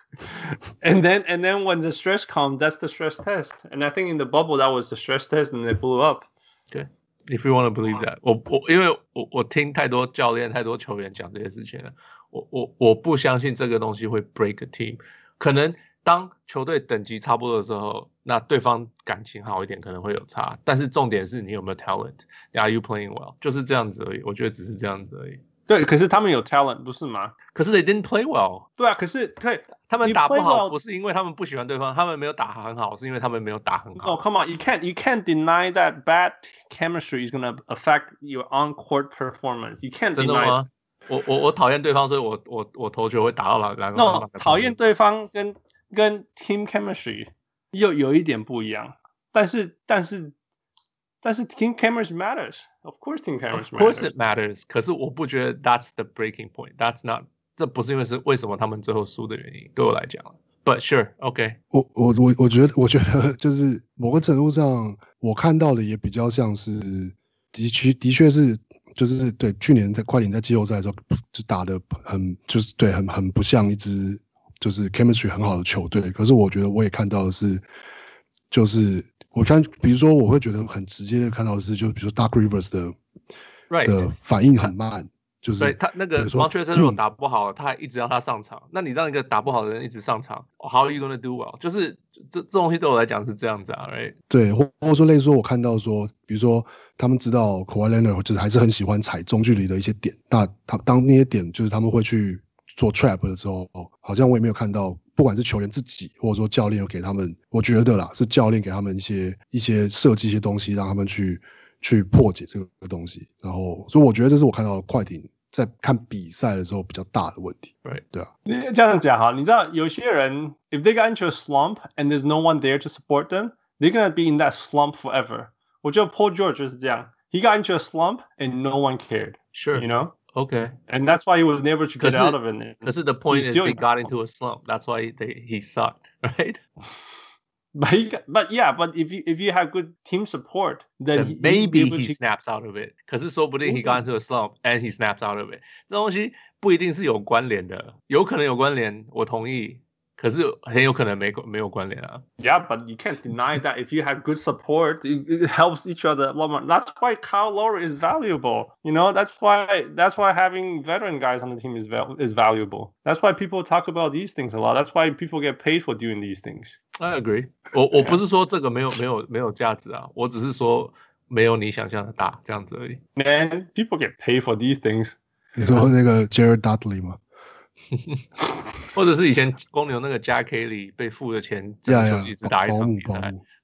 and then and then when the stress comes, that's the stress test. And I think in the bubble that was the stress test, and they blew up. Okay, if you want to believe that. 我我因為我我聽太多教練、太多球員講這些事情了。我我我不相信這個東西會 break a team， 可能當球隊等級差不多的時候，那對方感情好一點可能會有差，但是重點是你有沒有 talent，Are you playing well， 就是這樣子而已，我覺得只是這樣子而已。 對，可是他們有 talent 不是嗎？ 可是 they didn't play well。 對啊，可是對， 他們打不好不是因為他們不喜歡對方，他們沒有打很好，是因為他們沒有打很好。 Oh, come on, you can't you can't deny that bad chemistry is gonna affect your on-court performance. You can't deny. 真的嗎？我我我討厭對方，所以我我我投球會打到籃籃。 No， 討厭對方跟跟 team chemistry 又有一點不一樣，但是但是但是 team chemistry matters. Of course, team chemistry matters. Of course it matters. 可是我不覺得 that's the breaking point. That's not. 這不是因為是為什麼他們最後輸的原因，對我來講。But sure, OK。 我我我我覺得我覺得就是某個程度上，我看到的也比較像是的確的確是。就是對去年在快艇在季後賽的時候就打得很就是對很很不像一支就是 chemistry 很好的球隊，可是我覺得我也看到的是，就是我看比如說我會覺得很直接的看到的是，就比如說 Doc Rivers 的、right. 的反應很慢，就是對他那個 Montrezl Harrell 打不好，他還一直讓他上場，那你讓一個打不好的人一直上場 ，How are you gonna do well？ 就是這這東西對我來講是這樣子啊 ，right？ 對，或或者說類似說我看到說，比如說。他們知道 Kawhi Leonard 就是還是很喜歡踩中距離的一些點，那他當那些點就是他們會去做 trap 的時候，好像我也沒有看到，不管是球員自己或者說教練有給他們，我覺得啦是教練給他們一些一些設計一些東西，讓他們去去破解這個東西。然後，所以我覺得這是我看到的快艇在看比賽的時候比較大的問題。 Right， 對啊。 你這樣講哈，你知道有些人 if they got into a slump and there's no one there to support them, they're gonna be in that slump forever. 我覺得 Paul George 就是這樣。He got into a slump and no one cared. Sure. You know? Okay. And that's why he was never to get out of it. Because the point is he got into a slump. That's why they, he sucked, right? But he got, but yeah, but if you if you have good team support, then, then he, maybe he, he snaps out of it. 可是說不定 he got into a slump and he snaps out of it. 這東西不一定是有關聯的，有可能有關聯，我同意。可是很有可能沒沒有關聯啊。 Yeah, but you can't deny that if you have good support, it, it helps each other a lot more. That's why Kyle Lowry is valuable. You know, that's why that's why having veteran guys on the team is val- is valuable. That's why people talk about these things a lot. That's why people get paid for doing these things. I agree. 我我不是說這個沒有沒有沒有價值啊，我只是說沒有你想象的大這樣子而已。 Man, people get paid for these things. 你說那個 Jared Dudley 嗎？ 或者是以前公牛那個 Jack Haley 被付的錢，整個球季只打一場比賽，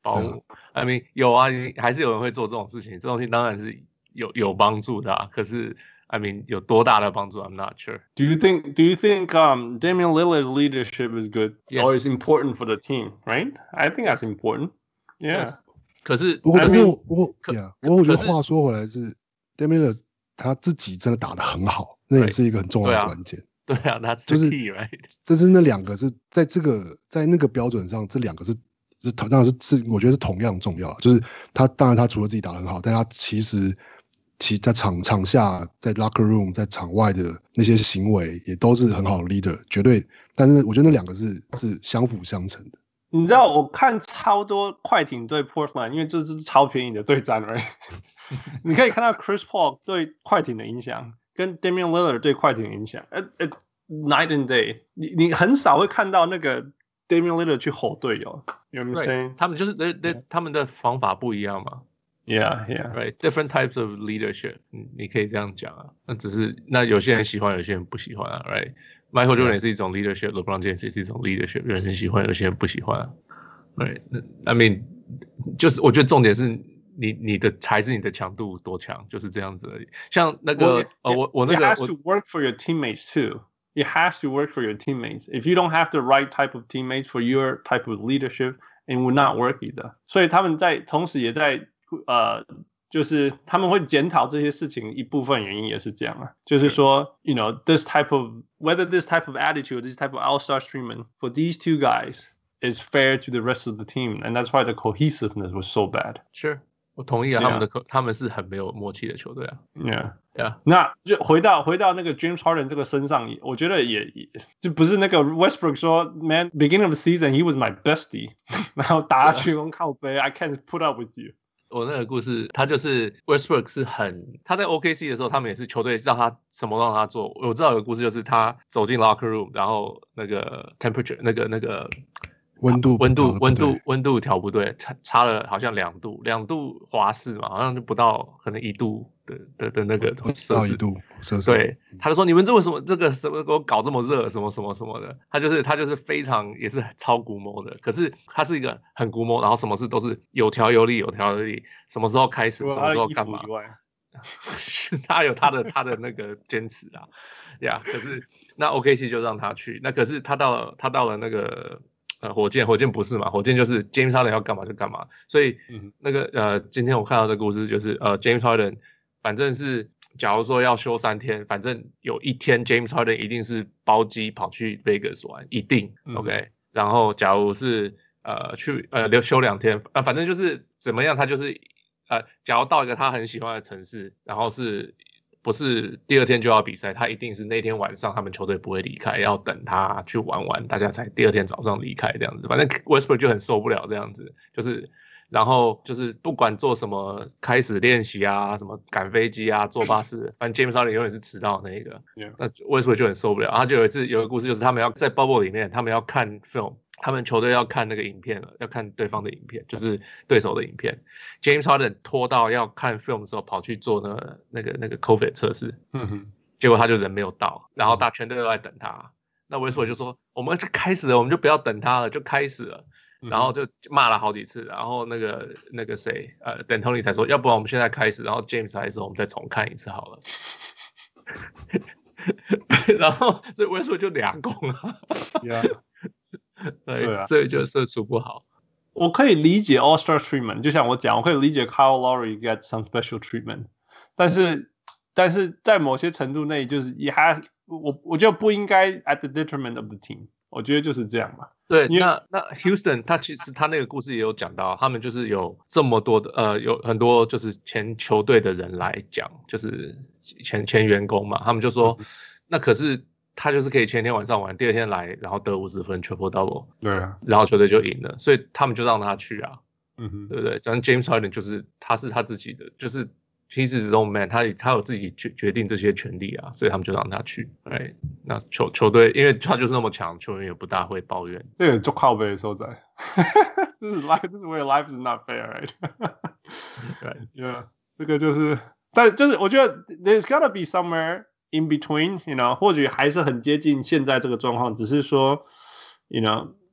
保姆。I mean 有啊，還是有人會做這種事情，這東西當然是有有幫助的啊。可是 I mean 有多大的幫助 ？I'm not sure. Do you think Do you think um Damian Lillard's leadership is good yes. or is important for the team? Right? I think that's important. Yeah. Yes. 可是不过不 I mean, 過不過，Yeah，不過我覺得話說回來是 Damian Lillard 他自己真的打得很好，那也是一個很重要的關鍵。 對啊，那就是 key, right？ 就是那兩個是在這個在那個標準上，這兩個是是同當然是是我覺得是同樣重要。就是他當然他除了自己打得很好，但他其實其在場場下在 locker room 在場外的那些行為也都是很好的 leader， 絕對。但是我覺得那兩個是是相輔相成的。 你知道我看超多快艇對 Portland， 因為這是超便宜的對戰，right？ 你可以看到 Chris Paul 對快艇的影響，跟 Damian Lillard 對快艇的影響，呃呃 ，night and day 你。你你很少會看到那個 Damian Lillard 去吼隊友，有沒有 saying？ 他們就是那那他們的方法不一樣嘛。 Yeah, yeah. Right, different types of leadership. 你可以這樣講啊。那只是那有些人喜歡，有些人不喜歡啊。Right, Michael Jordan 也是一種 leadership，LeBron James 也是一種 leadership。有人喜歡，有些人不喜歡啊。Right, I mean， 就是我覺得重點是你你的還是你的強度多強，就是這樣子而已。像那個 well, 呃，我我那個 It has to work for your teammates too. It has to work for your teammates. If you don't have the right type of teammates for your type of leadership, it will not work either. 所以他們在同時也在。呃，就是他們會檢討這些事情，一部分原因也是這樣啊，就是說 ，you know, this type of whether this type of attitude, this type of all-star treatment for these two guys is fair to the rest of the team, and that's why the cohesiveness was so bad. Sure, 我同意啊， yeah. 他們的他們是很沒有默契的球隊啊。 Yeah, yeah. 那就回到回到那個 James Harden 這個身上，我覺得也也就不是那個 Westbrook 說 ，Man, beginning of the season he was my bestie， 然後打去用靠背 ，I can't put up with you。 我那個故事，他就是 Westbrook 是很，他在 O K C 的時候，他們也是球隊讓他什麼都讓他做。我知道有個故事，就是他走進 locker room， 然後那個 temperature 那個那個溫度溫度溫度溫度調不對，差差了好像兩度，兩度華氏嘛，好像就不到可能一度的的的那個攝氏度攝氏。 對，他就說你們這為什麼這個什麼給我搞這麼熱，什麼什麼什麼的。他就是他就是非常也是超龜毛的，可是他是一個很龜毛，然後什麼事都是有條有理有條有理，什麼時候開始，什麼時候幹嘛。他有他的他的那個堅持啊，呀、yeah, 可是那 O K C 就讓他去，那可是他到了他到了那個。呃，火箭，火箭不是嘛？火箭就是 James Harden 要幹嘛就幹嘛，所以那個呃，今天我看到的故事就是呃 ，James Harden 反正是假如說要休三天，反正有一天 James Harden 一定是包機跑去 Vegas 玩，一定、嗯、OK。然後假如是呃去呃留休兩天，呃反正就是怎麼樣，他就是呃，假如到一個他很喜歡的城市，然後是。不是第二天就要比賽，他一定是那天晚上他們球隊不會離開，要等他去玩完，大家才第二天早上離開這樣子。反正 Westbrook 就很受不了這樣子，就是然後就是不管做什麼開始練習啊，什麼趕飛機啊，坐巴士，反正 James Harden 永遠是遲到的那一個。Yeah. 那 Westbrook 就很受不了，他就有一次有個故事，就是他們要在 bubble 裡面，他們要看 film。他們球隊要看那個影片了，要看對方的影片，就是對手的影片。James Harden 拖到要看 film 的時候，跑去做那個那個那個 COVID 測試，嗯哼，結果他就人沒有到，然後大全隊都在等他。那 Westbrook 就說：“我們就開始了，我們就不要等他了，就開始了。”然後就罵了好幾次，然後那個那個誰，呃，D'Antoni 才說：“要不然我們現在開始。”然後 James 還說：“我們再重看一次好了。”然後所以 Westbrook 就兩攻啊。Yeah. 對，對啊，所以就射出不好。 我可以理解 All-Star treatment， 就像我講，我可以理解 Kyle Lowry get some special treatment， 但是但是在某些程度內，就是也還我我覺得不應該 at the detriment of the team， 我覺得就是這樣嘛。 對，那那 Houston 他其實他那個故事也有講到，他們就是有這麼多的呃，有很多就是前球隊的人來講，就是前前員工嘛，他們就說，嗯、那可是。他就是可以前天晚上玩，第二天來，然後得五十分 triple double， 對啊，然後球隊就贏了，所以他們就讓他去啊，嗯哼，對不對？像 James Harden 就是他是他自己的，就是 he's his own man， 他他有自己決決定這些權利啊，所以他們就讓他去。哎，那球球隊因為他就是那麼強，球員也不大會抱怨。 這個就靠北的所在。This is life. This is where life is not fair, right? Right. Yeah. 這個就是，但就是我覺得 there's gotta be somewhere in between, you know, 或許還是很接近現在這個狀況，只是說 you know,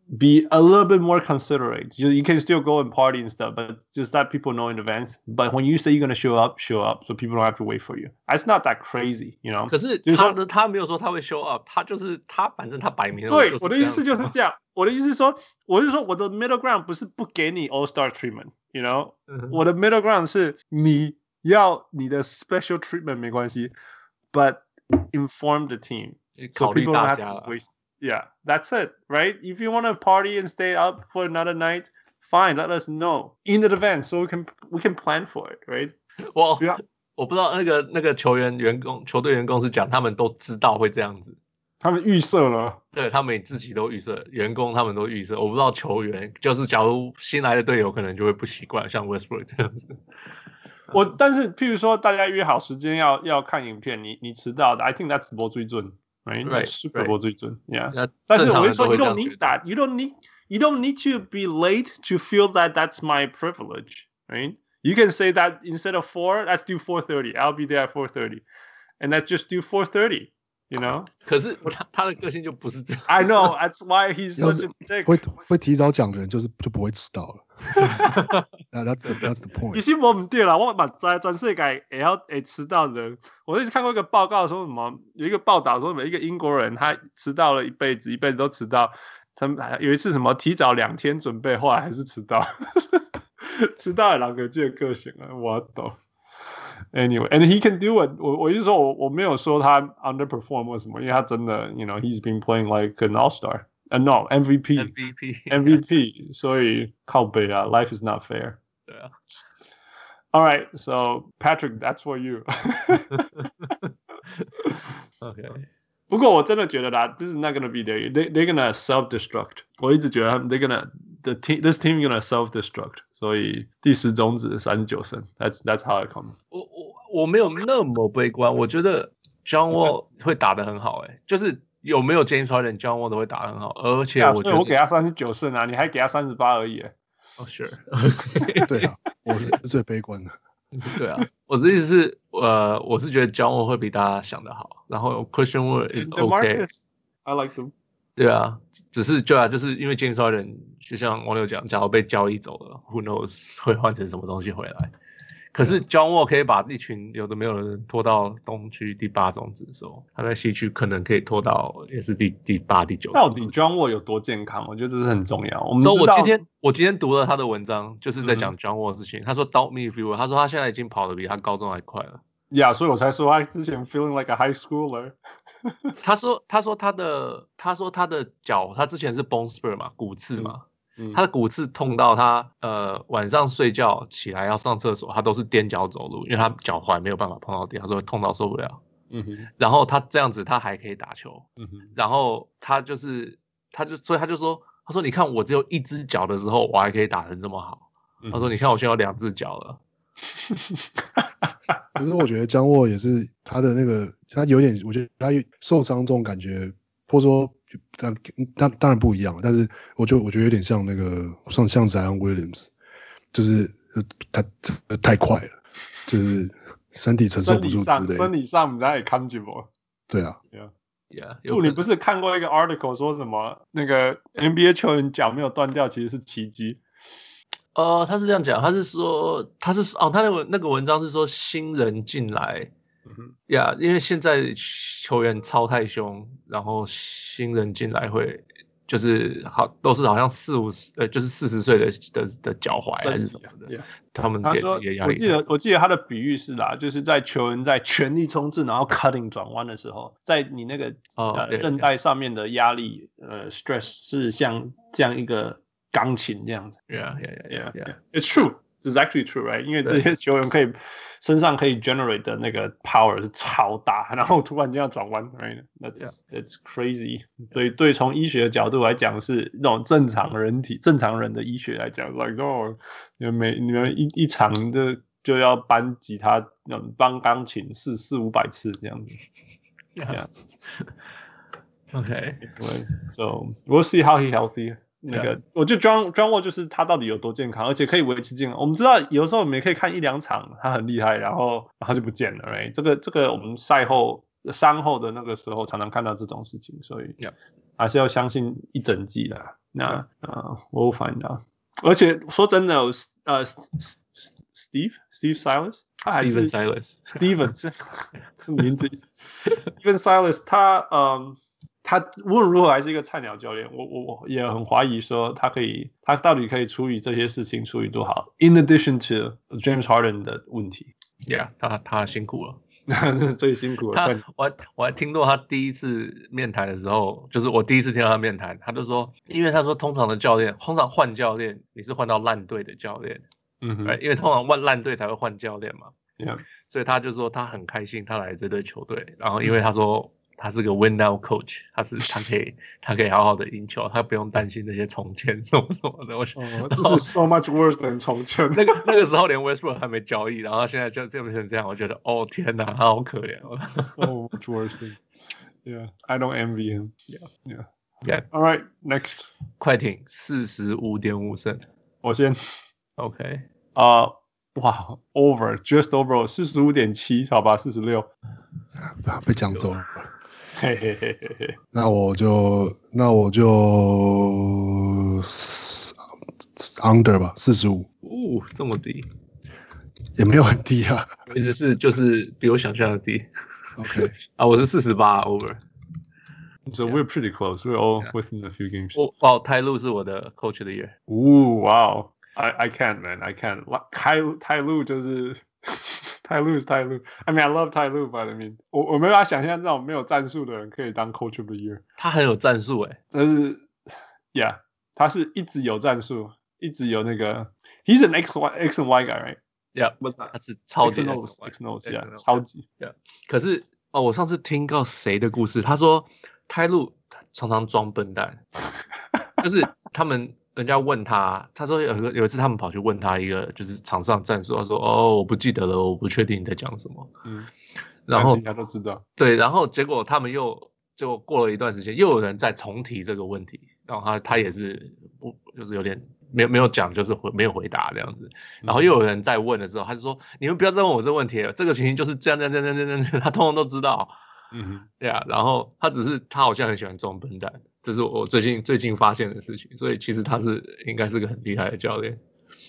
be a little bit more considerate. You, you can still go and party and stuff, but just let people know in advance. But when you say you're gonna show up, show up, so people don't have to wait for you. It's not that crazy, you know. 可是他的他没有说他会 show up， 他就是他反正他摆明了。 对，我的意思就是这样。我的意思是说，我是说我的 middle ground 不是不給你 all star treatment，you know，、嗯、我的 middle ground 是你要你的 special treatment 沒關係 ，but inform the team， 考慮大家了。 Yeah, that's it, right? If you want to party and stay up for another night, fine. Let us know in advance so we can we can plan for it, right? 我我不知道那個那個球員員工球隊員工是講他們都知道會這樣子， 他們預設了， 對他們自己都預設，員工他們都預設。我不知道球員就是假如新來的隊友可能就會不習慣，像 Westbrook 這樣子。 我但是譬如說大家約好時間要要看影片，你你遲到的 ，I think that's 沒水準。Right, right, Super Bowl 最準 ，Yeah。 但是我會說 ，You don't need that. You don't need. You don't need to be late to feel that that's my privilege, right? You can say that instead of four, let's do four thirty. I'll be there at four thirty, and let's just do four thirty. You know? 可是他他的個性就不是這樣。 I know. That's why he's such a dick. 會會提早講的人就是就不會遲到了。that's the, that's the point. 其實我唔對啦，我嘛在全世界會曉會遲到的人，我一直看過一個報告說什麼，有一個報道說，每一個英國人他遲到了一輩子，一輩子都遲到。他們有一次什麼提早兩天準備，後來還是遲到。遲到的兩個這個個性啊，我懂。Anyway, and he can do it. 我我一直說我我沒有說他 underperform 或什麼，因為他真的 ，you know, he's been playing like an all-star. Uh, no, M V P. M V P. M V P. 所以靠北啊 ，life is not fair. 對啊。 All right, so Patrick, that's for you. Okay. 不過我真的覺得啦 ，this is not gonna be there. They they're gonna self-destruct. 我一直覺得他們 they're gonna the team this team gonna self-destruct. 所以第十種子三十九勝 ，that's that's how it comes. 我我我沒有那麼悲觀，我覺得 John Wall 會打得很好、欸，哎，就是有沒有 James Harden，John Wall 都會打得很好，而且我覺得、 啊、我給他三十九勝啊，你還給他三十八而已、欸。 哦、oh, ，Sure 。 對啊，我是最悲觀的。 對啊，我的意思是，呃，我是覺得 John Wall 會比大家想的好，然後 Christian Wood is OK。I like him。 對啊，只是對啊，就是因為 James Harden 就像網友講，假如被交易走了 ，Who knows 會換成什麼東西回來？可是 John Wall 可以把一群有的沒有的人拖到東區第八種子的時候，他在西區可能可以拖到也是第第八、第九。 到底 John Wall 有多健康？我覺得這是很重要。我們知道， 所以我今天我今天讀了他的文章，就是在講 John Wall 的事情。嗯、他說 ，Doubt me if you will。他說他現在已經跑得比他高中還快了。 呀、yeah, ，所以我才說他之前 feeling like a high schooler 他說，他說他的，他說他的腳，他之前是 bone spur 嘛，骨刺嘛。嗯嗯、他的骨刺痛到他呃晚上睡覺起來要上廁所，他都是踮腳走路，因為他腳踝沒有辦法碰到地，他說痛到受不了。嗯哼，然後他這樣子他還可以打球。嗯哼，然後他就是他就所以他就說，他說你看我只有一隻腳的時候，我還可以打成這麼好。嗯、他說你看我現在有兩隻腳了。 可是我覺得江沃也是他的那個，他有點，我覺得他受傷這種感覺，或者說。當當當然不一樣，但是我就我覺得有點像那個像像 Zion Williams， 就是他太快了，就是身體承受不住之類的。 生理上你才看不我。對啊 ，Yeah， yeah 你不是看過一個 article 說什麼那個 N B A 球員腳沒有斷掉其實是奇蹟？ 呃，他是這樣講，他是說他是哦，他那個那個文章是說新人進來。呀、yeah, 因為現在球員操太凶，然後新人進來會就是好都是好像四五十呃就是四十歲的的的腳踝還是什麼的， yeah. 他們給自己的壓力。我記得我記得他的比喻是啦，就是在球員在全力衝刺然後 cutting 轉彎的時候，在你那個、oh, 呃韌帶上面的壓力呃 stress 是像這樣一個鋼琴這樣子。 Yeah, yeah, yeah, yeah, yeah. It's true. It's actually true, right? 因為這些球員可以身上可以 generate 的那個 power 是超大，然後突然間要轉彎 ，right? That's yeah. That's crazy. 所以對從醫學的角度來講，是那種正常人體、正常人的醫學來講 ，like oh，你們每你們一一場就就要搬吉他、搬鋼琴四四五百次這樣子。 Yeah. Okay. So we'll see how he healthy.那個， yeah. 我就 John John Wall 就是他到底有多健康，而且可以維持健康。我們知道有時候我們也可以看一兩場，他很厲害，然後然後就不見了。right? 這個這個我們賽後傷後的那個時候常常看到這種事情，所以還是要相信一整季的。 那呃 ，we'll find out。而且說真的，呃 ，Steve Steve Silas， 他還是 Steven Silas，Steven 这这名字 ，Steven Silas， 他嗯。他無論如何還是一個菜鳥教練，我我我也很懷疑說他可以，他到底可以處理這些事情處理多好。In addition to James Harden 的問題 ，Yeah， 他他辛苦了， 這是最辛苦的。 他我我還聽過他第一次面談的時候，就是我第一次聽到他面談，他就說，因為他說通常的教練，通常換教練你是換到爛隊的教練，嗯哼，因為通常換爛隊才會換教練嘛，Yeah， 所以他就說他很開心他來這隊球隊，然後因為他說。他是個 win now coach， 他是他可以他可以好好的贏球，他不用擔心那些重建什麼什麼的。我想， 哦，這是 so much worse than 重建。 那個那個時候連 Westbrook 還沒交易，然後他現在就變成這樣，我覺得哦天哪，他好可憐哦。 So much worse than, yeah, I don't envy him. Yeah, yeah, yeah. All right, next. 快艇四十五點五勝， 我先。 OK， 啊、uh, 哇 ，over just over 四十五點七，好吧，四十六， 被講走了。 嘿嘿嘿嘿嘿， 那我就那我就 under 吧，四十五。 哦，這麼低， 也沒有很低啊， 意思是就是比我想象的低。 OK， 啊，我是四十八 over。So we're pretty close. We're all within a few games. 哦哦，泰路是我的 coach of the year。 哦，哇哦 ，I I can't man, I can't. 泰泰路就是。泰路是泰路 I mean, I love 泰路 but I mean, 我我沒辦法想象這種沒有戰術的人可以當 Coach of the Year。 他很有戰術哎， 但是 ，Yeah， 他是一直有戰術，一直有那個 ，He's an X Y X and Y guy, right? Yeah， 他是超級 X and O，yeah， 超級 ，Yeah。可是哦，我上次聽到誰的故事，他說泰路常常裝笨蛋，就是他們。人家問他，他說有個有一次他們跑去問他一個就是場上戰術，他說哦我不記得了，我不確定你在講什麼。嗯，然後大家都知道。對， 然後結果他們又就過了一段時間，又有人再重提這個問題，然後他他也是不就是有點沒有沒有講，就是回沒有回答這樣子。然後又有人再問的時候，他就說你們不要再問我這個問題了，這個情形就是這樣這樣這樣這樣這樣，他通通都知道。嗯哼，對啊，然後他只是他好像很喜歡裝笨蛋。這是我最近最近發現的事情，所以其實他是應該是個很厲害的教練。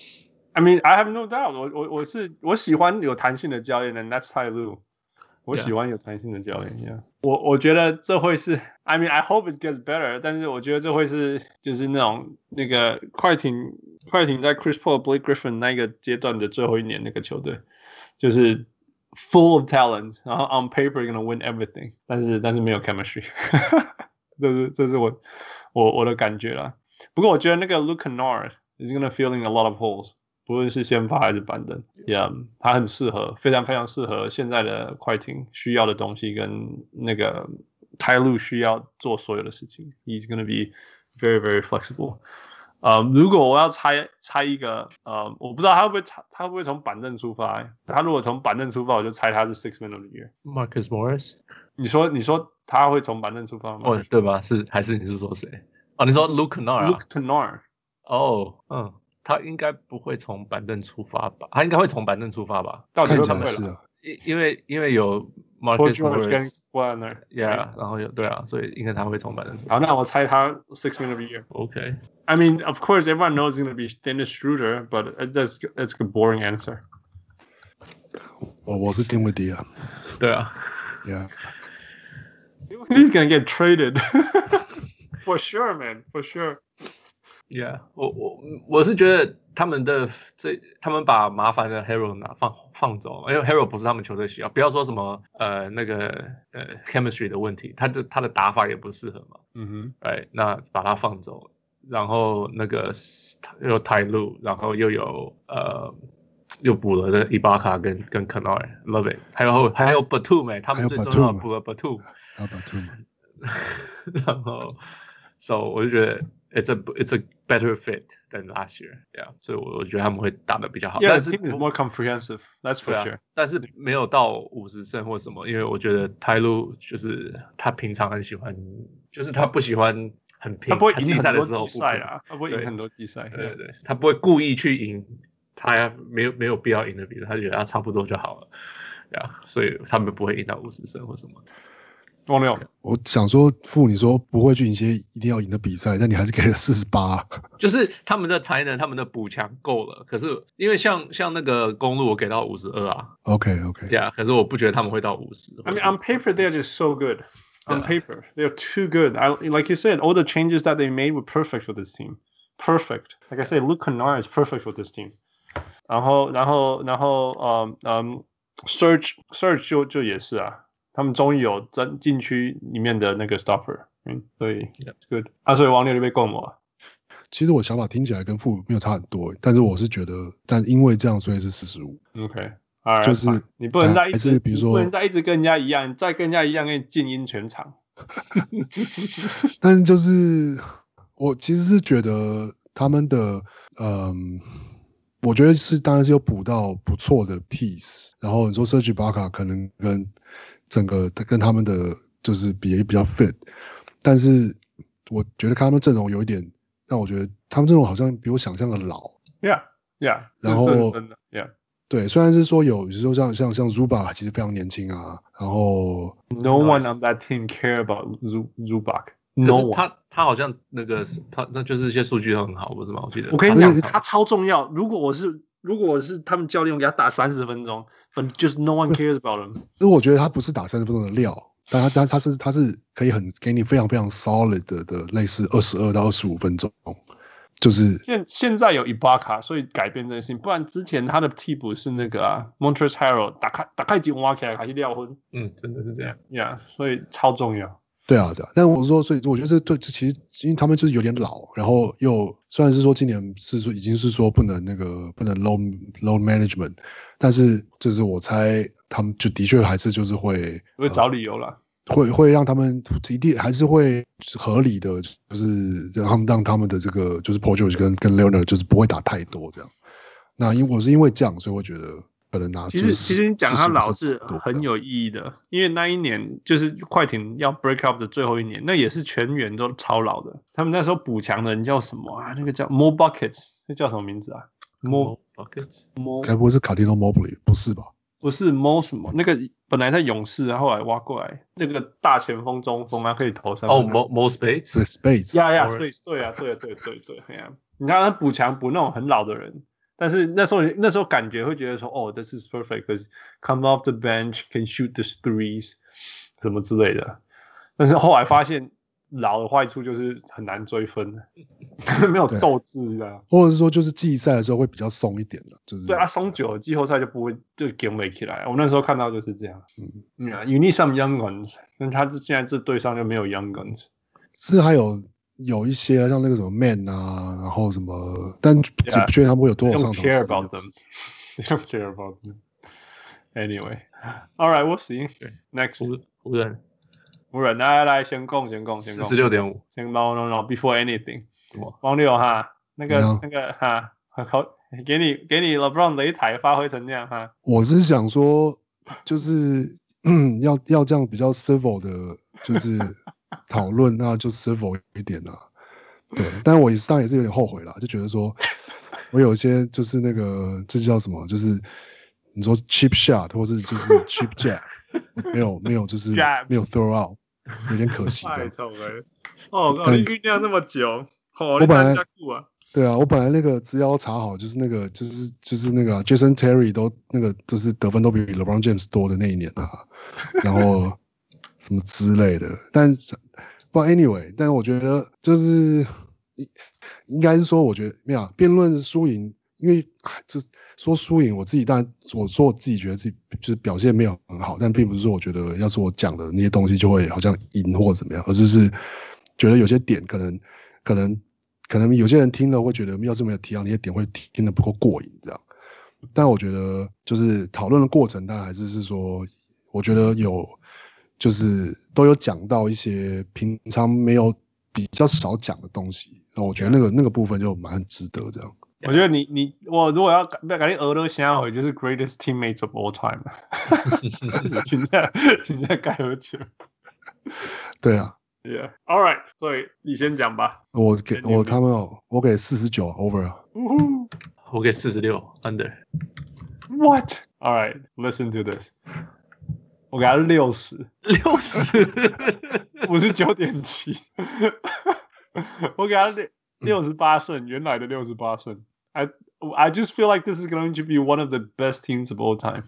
I mean, I have no doubt 我。我我我是我喜歡有彈性的教練的 ，That's Ty Lue。我喜歡有彈性的教練。Yeah. 我我覺得這會是 ，I mean, I hope it gets better。但是我覺得這會是就是那種那個快艇快艇在 Chris Paul、Blake Griffin 那個階段的最後一年那個球隊，就是 full of talent， 然後 on paper gonna win everything， 但是但是沒有 chemistry。這是這是我我我的感覺啦。不過我覺得那個 Luke Kennard is gonna fill in a lot of holes， 不論是先發還是板凳 ，Yeah， 他很適合，非常非常適合現在的快艇需要的東西，跟那個 Ty Lue 需要做所有的事情。He's gonna be very very flexible。呃，如果我要猜猜一個，呃，我不知道他會不會他會不會從板凳出發、欸？他如果從板凳出發，我就猜他是 Sixth Man of the Year。Marcus Morris， 你說你說他會從板凳出發嗎？ 哦，對吧？是還是你是說誰？哦，你說 Luke Kennard 啊 Luke Kennard。 哦，嗯，他應該不會從板凳出發吧？他應該會從板凳出發吧？ 到底會不會了？ 因因為因為有 Marcus Morris 跟 Warner，Yeah， 然後有對啊，所以應該他會從板凳出發。 好，那我猜他 Sixth Man of the Year。OK。I mean, of course, everyone knows it's going to be Dennis Schroeder, but that's that's a boring answer. 我我是丁威迪啊， 對啊 ，Yeah. He's going to get traded for sure, man, for sure. Yeah， 我我我是覺得他們的這他們把麻煩的 Hero 拿放放走，因為 Hero 不是他們球隊需要。不要說什麼呃那個呃 chemistry 的問題，他的他的打法也不適合嘛。嗯哼，哎，那把他放走。然後那個又有 Ty Lue， 然後又有呃又補了那個 Ibaka 跟跟 Kennard，love it， 還有還有 Batum 哎，他們最重要補了 Batum， 然後 so 我就覺得 it's a it's a better fit than last year，yeah， 所以我我覺得他們會打得比較好。 Yeah, 但是 team is more comprehensive, that's for sure。 但是沒有到五十勝或什麼，因為我覺得 Ty Lue 就是他平常很喜歡，就是他不喜歡。很拼， 他不會贏很多季賽啊，他不會贏很多季賽， 對對對，他不會故意去贏，他沒有沒有必要贏的比賽，他覺得他差不多就好了，呀，所以他們不會贏到五十勝或什麼。 王六， 我想說，傅，你說不會去贏些一定要贏的比賽，但你還是給了四十八。 就是他們的才能，他們的補強夠了。可是因為像像那個公路，我給到五十二啊。 OK OK。 Yeah， 可是我不覺得他們會到五十。 I mean, on paper they're just so good. On paper, they're too good. I, like you said, all the changes that they made were perfect for this team. Perfect. Like I said, Luke Kennard is perfect for this team. 然後，然後，然後，嗯嗯 ，Surge Surge 就就也是啊。他們終於有真禁區裡面的那個 stopper， 嗯，所以 that's good。啊，所以王六就被供了。 其實我想法聽起來跟傅沒有差很多，但是我是覺得，但因為這樣，所以是四十五。 OK， 就是你不能再一直， 比如說， 你不能再一直跟人家一樣，再跟人家一樣，給你靜音全場。 但是就是我其實是覺得他們的，嗯，我覺得是當然是有補到不錯的 piece， 然後你說 Serge Ibaka 可能跟整個跟他們的就是比也比較 fit， 但是我覺得他們陣容有一點讓我覺得他們陣容好像比我想象的老。 Yeah, yeah。 然後真的 ，Yeah。 對，雖然是說有，比如說像像像 Zubac 其實非常年輕啊，然後 No one on that team care about Zubac。No one。 他他好像那個他那就是一些數據都很好，不是嗎？我記得。 我跟你講，他超重要。如果我是如果我是他們教練，我給他打三十分鐘，反正就是 no one cares about him。 因为我覺得他不是打三十分鐘的料，但他他他是他是可以很給你非常非常 solid 的的類似二十二到二十五分鐘。就是現現在有 Ibaka， 所以改變這件事情，不然之前他的替補是那個啊 Montrezl Harrell， 打開打開井挖起來還是撂昏， 嗯，真的是這樣呀， yeah, 所以超重要。 對啊，對啊，但我說，所以我覺得這對，這其實因為他們就是有點老，然後又雖然是說今年是說已經是說不能那個不能 load load management， 但是就是我猜他們就的確還是就是會會找理由啦。呃會會讓他們一定還是會合理的，就是讓他們讓他們的這個就是 Paul George 跟跟 Leonard 就是不會打太多這樣。那因為我是因為這樣，所以我覺得可能拿。 其實其實你講他老是很有意義的，因為那一年就是快艇要 break up 的最後一年，那也是全員都超老的。他們那時候補強的人叫什麼啊？那個叫 Mo Buckets， 那叫什麼名字啊 ？Mo Buckets， 該不會是 Cartino Mobley？ 不是吧？ 不是 Mo 什麼？那個本來在勇士，後來挖過來，那個大前鋒中鋒啊，可以投三分。 哦 ，Mo Mo Space，Space， 呀呀，對對啊，對對對對，哎呀，你看他補強補那種很老的人，但是那時候那時候感覺會覺得說，哦 ，this is perfect，because come off the bench can shoot the threes， 什麼之類的。但是後來發現老的壞處就是很難追分，沒有鬥志，你知道嗎？ 或者是說，就是季賽的時候會比較鬆一點了，就是對啊，鬆久了，季後賽就不會就頂不起來。我那時候看到就是這樣。嗯，嗯，You need some young guns， 但他現在這隊上就沒有 young guns。 是還有有一些像那個什麼 Man 啊，然後什麼，但也不確定他們會有多少上場。 Don't care about them. Don't care about them. Anyway, all right, we'll see. Next， 湖人。 湖人，來來來，先攻先攻先攻， 四十六點五， 先 no no no before anything， 王六哈，那個、嗯、那個哈，好，給你給你 LeBron 擂台發揮成這樣哈。 我是想說，就是要要這樣比較 civil 的，就是討論，那就 civil 一點啦。對，但我當然也是有點後悔啦，就覺得說我有一些就是那個這叫什麼，就是你說 cheap shot 或是就是 cheap jab， 沒有沒有就是沒有 throw out。有點可惜的。 太醜了！哦，你醞釀那麼久，哦、 我本來、 啊、 對啊，我本來那個資料查好，就是那個就是就是那個、啊、Jason Terry 都那個就是得分都比 LeBron James 多的那一年啊，然後什麼之類的。但不 anyway， 但我覺得就是應該是說，我覺得沒有辯論輸贏，因為就是。說輸贏，我自己當然我說我自己覺得自己就是表現沒有很好，但並不是說我覺得要是我講的那些東西就會好像贏或怎麼樣，而就是覺得有些點可能可能可能有些人聽了會覺得要是沒有提到那些點會聽得不夠過癮這樣。但我覺得就是討論的過程，當然還是是說，我覺得有就是都有講到一些平常沒有比較少講的東西，那我覺得那個那個部分就蠻值得這樣。 我覺得你你我如果要改改你額頭想回就是 greatest teammates of all time， 現在現在該喝酒。 對啊 ，Yeah， all right， 所以你先講吧。 我給我他們哦，我給四十九 over 啊， 我給四十六 under。 What？ All right，listen to this。 我給他六十， 六十， 五十九點七，我給他六六十八勝，原來的六十八勝。I I just feel like this is going to be one of the best teams of all time.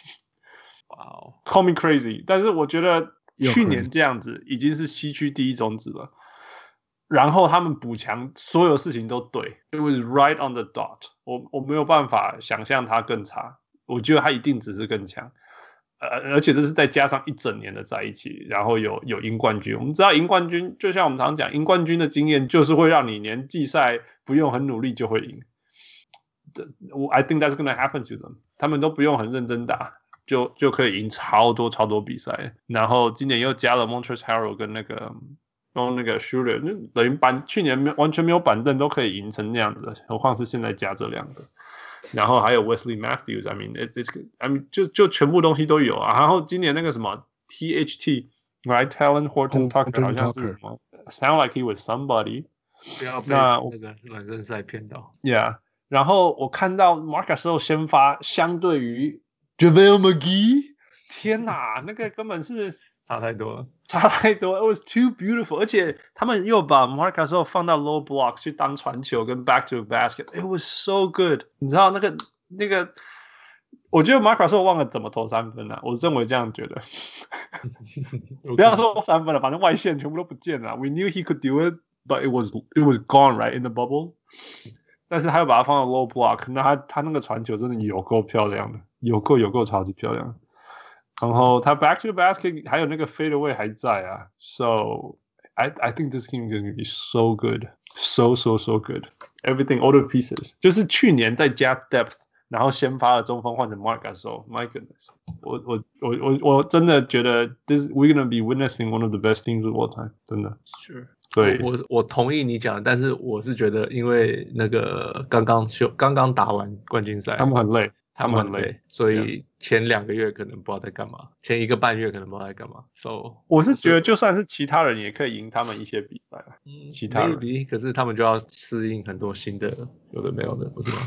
Wow, call me crazy， 但是我覺得去年這樣子已經是西區第一種子了。然後他們補強，所有事情都對 ，It was right on the dot 我。我我沒有辦法想象他更差，我覺得他一定只是更強。呃，而且這是再加上一整年的在一起，然後有有贏冠軍。我們知道贏冠軍，就像我們常講，贏冠軍的經驗就是會讓你連季賽不用很努力就會贏。I think that's going to happen to them。他們都不用很認真打，就就可以贏超多超多比賽。然後今年又加了 Montrezl Harrell 跟那個。用那個 Schroeder 等於板去年沒完全沒有板凳都可以贏成那樣子，何況是現在加這兩個，然後還有 Wesley Matthews，I mean it's I mean 就就全部東西都有啊。然後今年那個什麼 T H T right Talen Horton Tucker 好像是什麼 sound like he was somebody， 不要被那那個暖身賽騙到 ，Yeah。然後我看到 Marc Gasol先發，相對於 JaVale McGee， 天哪，那個根本是。 差太多了， 差太多 ，It was too beautiful， 而且他們又把 Marc Gasol 放到 low block 去當傳球跟 back to basket，It was so good。你知道那個那個，我覺得 Marc Gasol 忘了怎麼投三分了、啊，我認為這樣覺得。不要說三分了，反正外線全部都不見了。We knew he could do it, but it was it was gone right in the bubble。但是他又把它放到 low block， 那他他那個傳球真的有夠漂亮的，有夠有夠超級漂亮。然後他 back to the basket 還有那個 fade away 還在啊 ，so I I think this team is going to be so good, so so so good. Everything, all the pieces， 就是去年再加 depth， 然後先發的中鋒換成 Marc Gasol， my goodness， 我我我我我真的覺得 this we're going to be witnessing one of the best teams of all time， 真的。 Sure。 对， 我我同意你講，但是我是覺得，因為那個剛剛休剛剛打完冠軍賽， 他們很累。 他們很累，所以前兩個月可能不知道在幹嘛，前一個半月可能不知道在幹嘛。So， 我是覺得就算是其他人也可以贏他們一些比賽。 嗯， 其他人 maybe， 可是他們就要適應很多新的，有的沒有的，不是嗎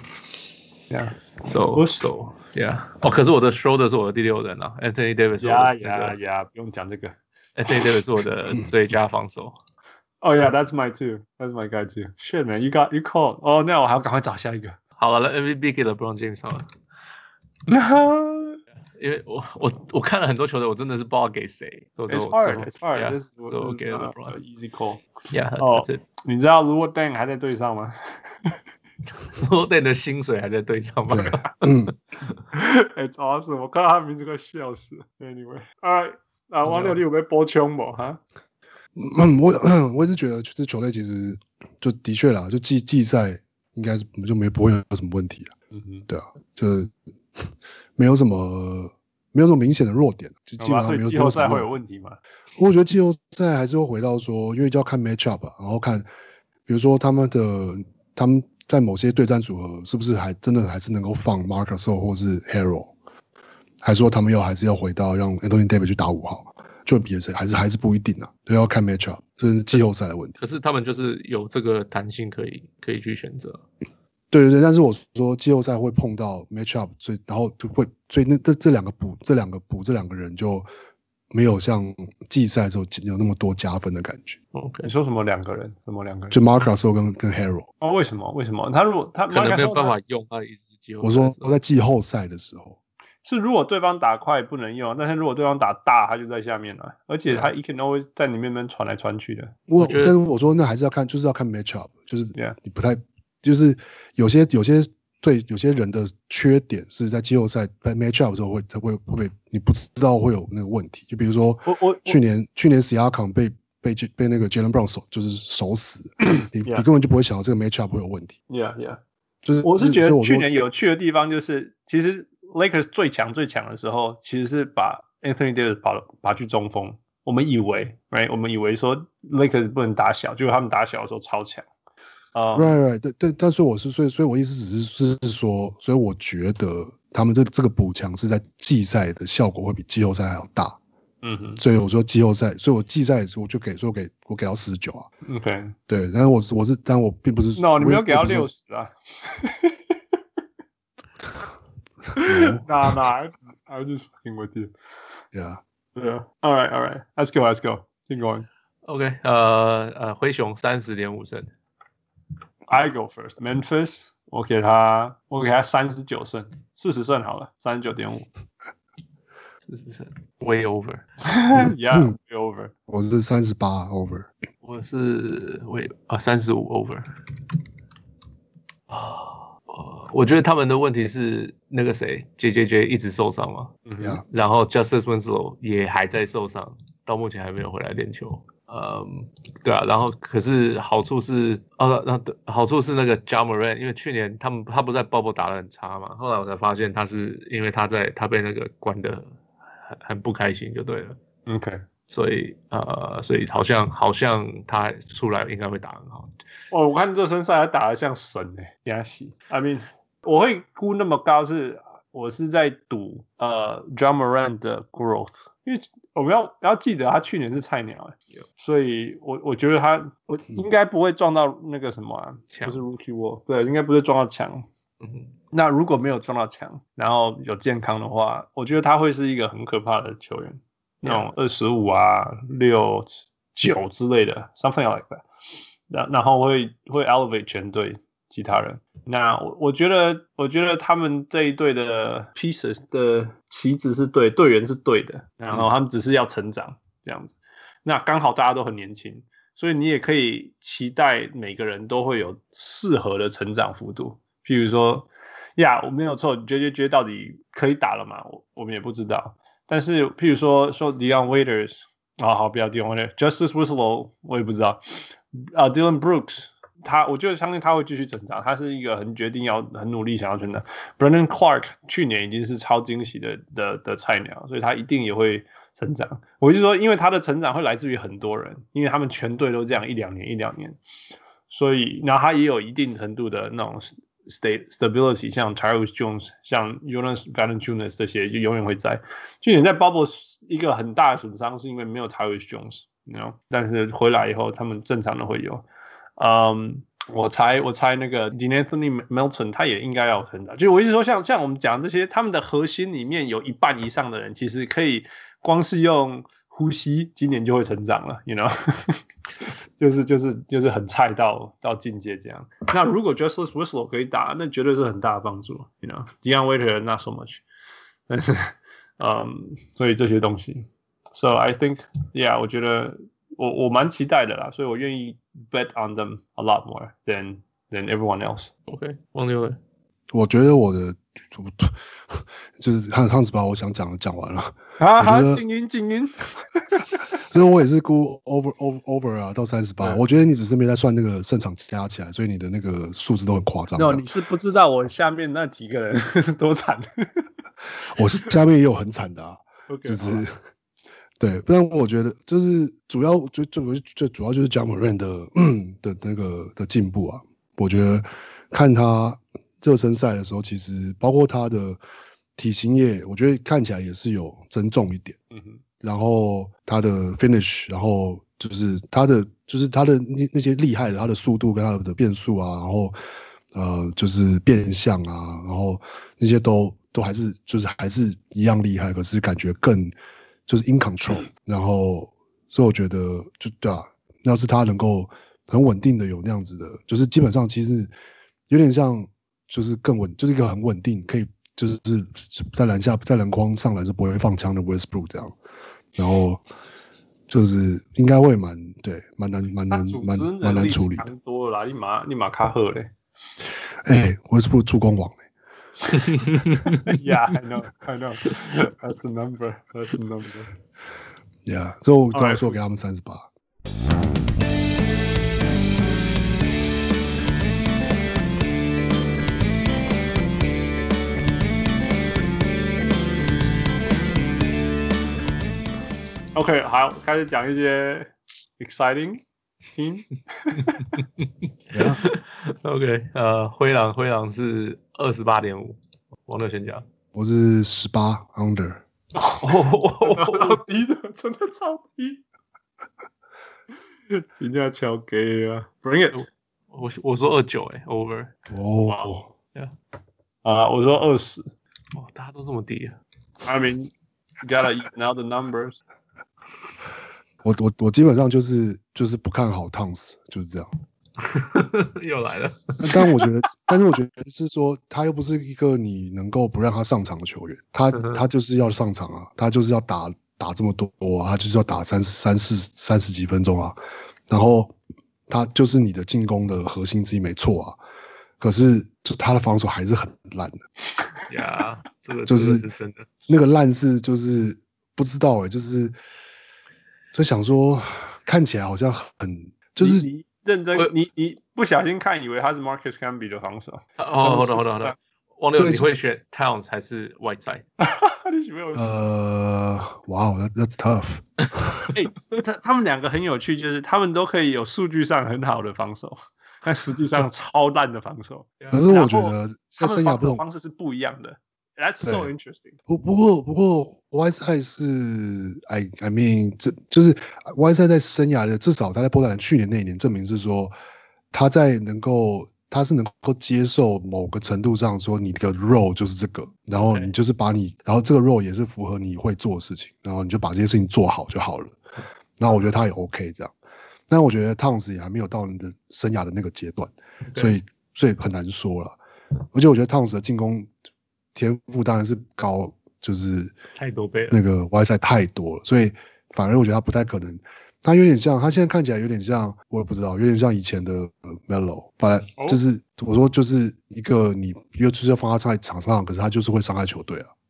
？Yeah，so so yeah。哦，可是我的 Schroeder 是我的第六人啊 ，Anthony Davis 是我的、那個。 呀呀呀，不用講這個。 Anthony Davis 是我的最佳防守。 Oh yeah, that's my too. That's my guy too. Shit man, you got you called. Oh no， 我還要趕快找下一個。 好了 ，M V P 給了 LeBron James 好了。因為我我我看了很多球隊，我真的是不知道給誰。 It's hard, it's hard. Yeah, This so 我給了 LeBron. Easy call. Yeah, 哦，你知道 Luol Deng 還在隊上嗎 ？Luol Deng 的薪水還在隊上嗎？ 嗯 ，It's awesome. 我看到他名字快笑死了。Anyway, alright. 啊，王六，你有沒有補充嗎？哈？ 嗯，我我也是覺得這球隊其實就的確啦，就季季賽應該是就沒不會有什麼問題啊。嗯哼，對啊，就是沒有什麼沒有什麼明顯的弱點，就基本上沒有。 季後賽會有問題嗎？ 我覺得季後賽還是會回到說，因為就要看 matchup 啊，然後看，比如說他們的他們在某些對戰組合是不是還真的還是能夠放 Marc Gasol 或是 Harrell， 還是說他們要還是要回到讓 Anthony Davis 去打五號，就比誰還是還是不一定啊，都要看 matchup， 這是季後賽的問題。 可是他們就是有這個彈性可以可以去選擇。 對對對，但是我說季後賽會碰到 matchup， 所以然後就會，所以那這這兩個補這兩個補這兩個人就沒有像季賽的時候有那麼多加分的感覺。 OK， 你說什麼兩個人？什麼兩個人？ 就 Marc Gasol 跟跟 Harrell。 哦，為什麼？為什麼？他如果他可能沒有辦法用他的意思。 我說我在季後賽的時候， 是如果對方打快不能用，但是如果對方打大，他就在下面了，而且他 he can always 在你面邊傳來傳去的。 我但是我說那還是要看，就是要看 matchup， 就是你不太。就是有些有些對有些人的缺點是在季後賽在 matchup 的時候會會會被你不知道會有那個問題，就比如說我我去年去年 Siakam 被被被那個 Jaylen Brown 守就是守死，你 yeah. 你根本就不會想到這個 matchup 會有問題。 Yeah, yeah， 就是我是覺得去年有趣的地方就是其實 Lakers 最強最強的時候其實是把 Anthony Davis 拔拔去中鋒，我們以為 right 我們以為說 Lakers 不能打小，結果他們打小的時候超強。 Uh, right, right， 對對，但是我是所以，所以我意思只是是說，所以我覺得他們這這個補強是在季賽的效果會比季後賽還要大。嗯哼，所以我說季後賽，所以我季賽我就給說給我給到四十九啊。 OK， 對，但是我是我是，但我並不是。 No， 你沒有給到六十啊。Nah, nah, I, I was just fucking with you. Yeah. Yeah. All right, all right. Let's go, let's go. Keep going. OK， 呃呃，灰熊三十点五胜。 I go first. Memphis， 我給他，我給他三十九勝，四十勝好了，三十九點五。 四十勝 ，way over。 Yeah, way over。 我是三十八 over。 我是 way 啊三十五 over。啊。我覺得他們的問題是那個誰 J J J 一直受傷嘛， 嗯、 然後 Justice Winslow 也還在受傷，到目前還沒有回來練球。嗯，對啊，然後可是好處是，哦，那好處是那個 Ja Morant， 因為去年他們他不在 Bubble 打得很差嘛，後來我才發現他是因為他在他被那個關得很很不開心就對了。 OK， 所以呃，所以好像好像他出來應該會打很好。 哦，我看熱身賽他打得像神哎、欸，壓死 I mean。我會估那麼高是，我是在賭呃 Ja Morant 的 growth， 因為我們要要記得他去年是菜鳥、欸，所以我我覺得他我應該不會撞到那個什麼啊，不是 Rookie Wall， 對，應該不會撞到牆。嗯，那如果沒有撞到牆，然後有健康的話，我覺得他會是一個很可怕的球員，那種二十五啊、六九之類的 ，something like that， 然然後會會 elevate 全隊。其他人，那我我覺得，我覺得他們這一隊的 pieces 的棋子是對，隊員是對的，然後他們只是要成長這樣子。那剛好大家都很年輕，所以你也可以期待每個人都會有適合的成長幅度。譬如說，呀，我沒有錯 ，J J J 到底可以打了嗎？我我們也不知道。但是譬如說說 Dion Waiters 啊，好，不要 Dion Waiters，Justice Winslow 我也不知道，啊、uh, Dylan Brooks。他，我就相信他會繼續成長。他是一個很決定要很努力想要成長。Brandon Clark 去年已經是超驚喜的的的菜鳥，所以他一定也會成長。我就說，因為他的成長會來自於很多人，因為他們全隊都這樣一兩年一兩年，所以然後他也有一定程度的那種 state stability， 像 Tyus Jones、像 Jonas Valanciunas 這些就永遠會在。去年在 Bubble 一個很大的損傷是因為沒有 Tyus Jones，you know? 但是回來以後他們正常的會有。嗯、um, ，我猜我猜那個 De'Anthony Melton 他也應該要成長。就我一直說像，像像我們講這些，他們的核心裡面有一半以上的人，其實可以光是用呼吸，今年就會成長了 ，you know， 就是就是就是很菜到到境界這樣。那如果 Justice Winslow 可以打，那絕對是很大的幫助 ，you know。Dion Waiters not so much， 但是嗯， um, 所以這些東西 ，so I think yeah， 我覺得。我我蠻期待的啦，所以我願意 bet on them a lot more than than everyone else. OK， 王六， 我覺得我的就是漢漢斯把我想講的講完了。 好好，靜音靜音。 所以我也是估 over over over 啊，到三十八。我覺得你只是沒在算那個勝場加起來，所以你的那個數字都很誇張。 No， 你是不知道我下面那幾個人多慘。我下面也有很慘的啊， okay, 就是。對，不然我覺得就是主要最最最主要就是 Ja Morant 的的那個的進步啊。我覺得看他熱身賽的時候，其實包括他的體型也，我覺得看起來也是有增重一點。嗯哼。然後他的 finish， 然後就是他的就是他的那那些厲害的，他的速度跟他的變速啊，然後呃就是變向啊，然後那些都都還是就是還是一樣厲害，可是感覺更。就是 in control， 然後所以我覺得就對啊，要是他能夠很穩定的有那樣子的，就是基本上其實有點像，就是更穩，就是一個很穩定，可以就是在籃下在籃筐上籃是不會放槍的 Westbrook 這樣，然後就是應該會蠻對，蠻難蠻難蠻蠻難處理的。 多了啦，立馬立馬卡赫嘞， 哎 ，Westbrook 助攻王嘞。 Yeah, I know, I know. That's the number. That's the number. Yeah, 所以我刚才說給他們三十八。 OK， 好，開始講一些 exciting teams。 yeah. OK， 呃，灰狼，灰狼是二十八點五。王六先講， 我是十八 under。 好低的，真的超低。今天超給啊 ，Bring it！ 我我說二九哎 ，over。 哦， 啊，我說二十。 哇，大家都這麼低啊 ！I mean， You gotta even out the numbers 我。我我我基本上就是就是不看好 Towns， 就是這樣。 又來了。 但我覺得，但是我覺得是說，他又不是一個你能夠不讓他上場的球員，他他就是要上場啊，他就是要打打這麼多啊，他就是要打三三四三十幾分鐘啊，然後他就是你的進攻的核心之一，沒錯啊。可是就他的防守還是很爛的。 呀，這個就是真的， 那個爛是就是不知道哎、欸，就是就想說看起來好像很就是你你認真，你你不小心看以為他是 Marcus Camby 的防守。 哦，好的好的好的。王六，你會選 Towns 還是 Whiteside？ 你喜歡我？ 呃，哇、wow, ，That's tough 欸。他他們兩個很有趣，就是他們都可以有數據上很好的防守，但實際上超爛的防守。 可是我覺得他們防守方式是不一樣的。That's so interesting。 不不過不過 Whiteside 是 I I mean 這就是 Whiteside 在生涯的至少他在波特蘭去年那一年證明是說他在能夠他是能夠接受某個程度上說你的 role 就是這個，然後你就是把你然後這個 role 也是符合你會做的事情，然後你就把這些事情做好就好了。然後我覺得他也 OK 這樣，但我覺得 Towns 也還沒有到你的生涯的那個階段，所以所以很難說了。而且我覺得 Towns 的進攻天賦當然是高，就是太多倍了， 那個 Whiteside 太多了，所以反而我覺得他不太可能。他有點像，他現在看起來有點像，我也不知道，有點像以前的 Melo， 本來就是、oh. 我說就是一個你又就是要放他在場上，可是他就是會傷害球隊啊。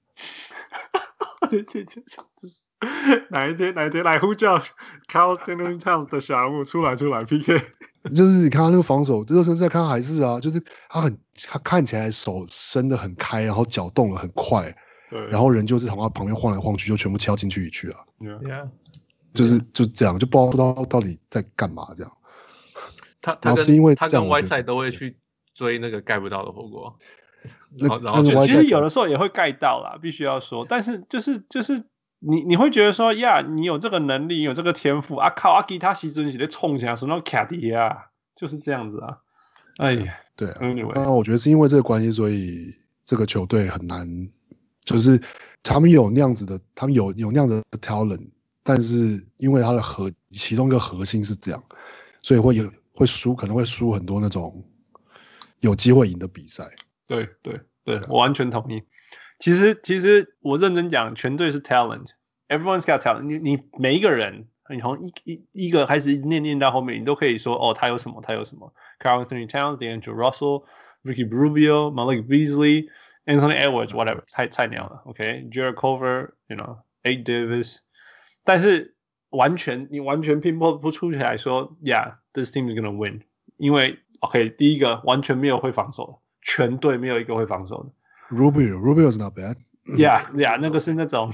哪一天哪一天來呼叫 Karl-Anthony Towns 的小人物出來出來 P K。 就是你看他那個防守，熱身賽看還是啊，就是他很他看起來手伸得很開，然後腳動得很快，對，然後人就是從他旁邊晃來晃去，就全部敲進去一去啊。 Yeah. 就是就這樣，就不知道不知道到底在幹嘛這樣。 他他跟是因為他跟 Whiteside 都會去追那個蓋不到的火鍋。 然後然後其實有的時候也會蓋到啦，必須要說。但是就是就是你你會覺得說呀，你有這個能力，你有這個天賦啊靠，啊其他時陣是在衝起來，說那卡迪啊，就是這樣子啊。哎呀， 對啊。 Anyway， 那我覺得是因為這個關係，所以這個球隊很難，就是他們有那樣子的，他們有有那樣的 talent。但是因為他的核其中一個核心是這樣，所以會有會輸，可能會輸很多那種有機會贏的比賽。 對對對，我完全同意。其實其實我認真講，全隊是 talent，everyone's got talent 你。你你每一個人，你從一一一個開始念念到後面，你都可以說哦，他有什麼，他有什麼。Karl-Anthony Towns、D'Angelo Russell、Ricky Rubio、Malik Beasley、Anthony Edwards，whatever， 太菜鳥了。OK，Jarrett Culver，you know，Ed Davis。但是完全你完全拼不不出來說 ，Yeah，this team is gonna win， 因為 OK， 第一個完全沒有會防守的，全隊沒有一個會防守的。 Rubio Rubio is not bad。Yeah Yeah， 那個是那種，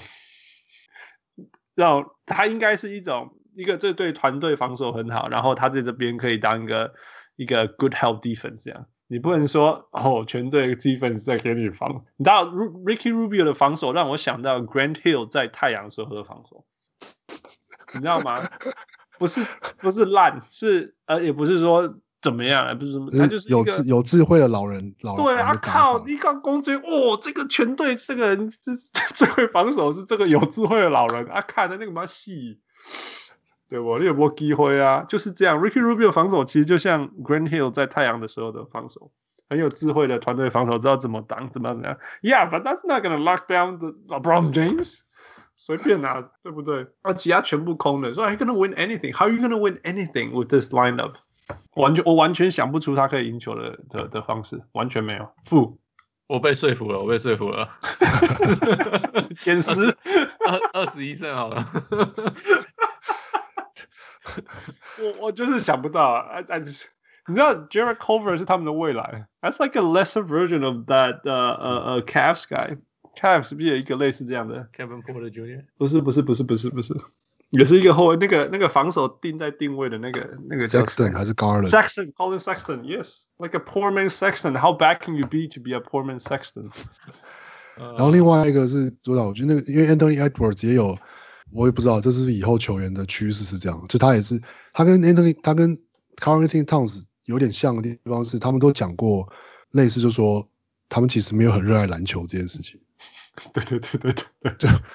讓他應該是一種一個這對團隊防守很好，然後他在這邊可以當一個一個 good help defense 這樣。你不能說哦，全隊 defense 在給你防。你知道 Ricky Rubio 的防守讓我想到 Grant Hill 在太陽時候的防守。你知道嗎？不是不是爛，是呃也不是說怎麼樣，不是什麼，他就是一個有智有智慧的老人。老人對啊，靠！你剛攻擊，哦，這個全隊這個人是最會防守，是這個有智慧的老人啊！看的那個嘛戲，對不？你有沒有機會啊？就是這樣 ，Ricky Rubio 防守其實就像 Grant Hill 在太陽的時候的防守，很有智慧的團隊防守，知道怎麼擋，怎麼樣怎麼樣。Yeah, but that's not gonna lock down the LeBron James。隨便拿，對不對？啊，其他全部空的，所以 How are you gonna win anything? How are you gonna win anything with this lineup? 完全，我完全想不出他可以贏球的的的方式，完全沒有。負， 我被說服了，我被說服了。 減十， 二二十一勝好了。 我我就是想不到啊 I, I just, 你知道 Jarrett Culver 是他們的未來 ，That's like a lesser version of that uh uh, uh Cavs guy。Cavs 是不是有一個類似這樣的 Kevin Porter Junior 不是不是不是不是不是，也是一個後衛，那個那個防守定在定位的那個那個 Sexton 還是 Garland Sexton Colin Sexton yes like a poor man Sexton how bad can you be to be a poor man Sexton 然後另外一個是主導，我覺得那個因為 Anthony Edwards 也有，我也不知道這是不是以後球員的趨勢是這樣，就他也是他跟 Anthony 他跟 Karl-Anthony Towns 有點像的地方是，他們都講過類似，就是說他們其實沒有很熱愛籃球這件事情。 對對對對對， 就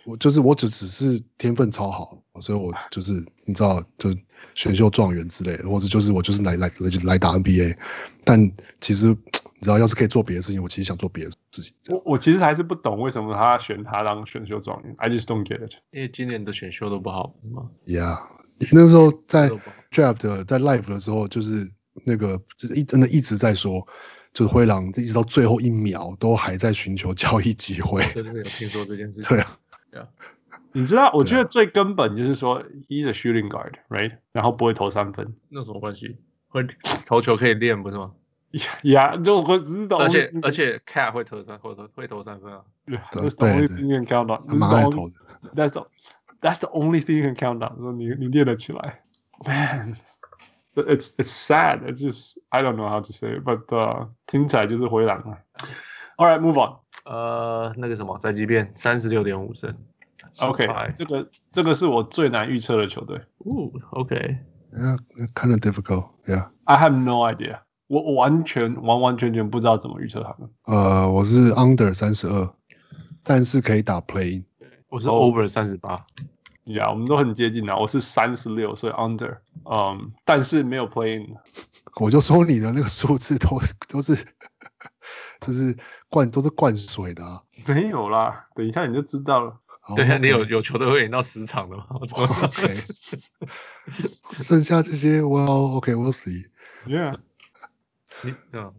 我就是我只只是天分超好，所以我就是你知道，就選秀狀元之類的，或者就是我就是來來來打 N B A， 但其實你知道，要是可以做別的事情，我其實想做別的事情。 我我其實還是不懂為什麼他選他當選秀狀元 ，I just don't get it。 因為今年的選秀都不好嗎 ？Yeah， 那時候在 draft 的在 live 的時候，就是那個就是一真的一直在說。就是灰狼一直到最後一秒都還在尋求交易機會。 對对对，有聽說這件事情。 對啊， 對啊。 你知道，我覺得最根本就是說 ，he's a shooting guard, right？ 然後不會投三分， 那什麼關係？會投球可以練，不是嗎？ 呀，就我只是懂。 而且而且 Cat 會投三，會投會投三分啊。 對，That's the only thing you can count on. 蠻愛投的。 That's the That's the only thing you can count on. 說你你練得起來 ，Man。It's it's sad. It's just I don't know how to say it, but uh, 聽起來就是灰狼啊。All right, move on. 呃，那個什麼，宅急便三十六點五勝。 OK， 這個這個是我最難預測的球隊。 哦 ，OK， Yeah, kind of difficult. Yeah. I have no idea. 我我完全完完全全不知道怎麼預測他們。 呃，我是 under 三十二，但是可以打 play。 我是 over 三十八。 呀，yeah, 我們都很接近啊！我是三十六，所以 under， 嗯、um, ，但是沒有 play in。 我就說你的那個數字都都是，就是灌都是灌水的啊。 沒有啦，等一下你就知道了。 對啊，你有有球隊會贏到十場的嗎？我操 OK， 剩下這些 ，Well OK，We'll see。Yeah， 你嗯，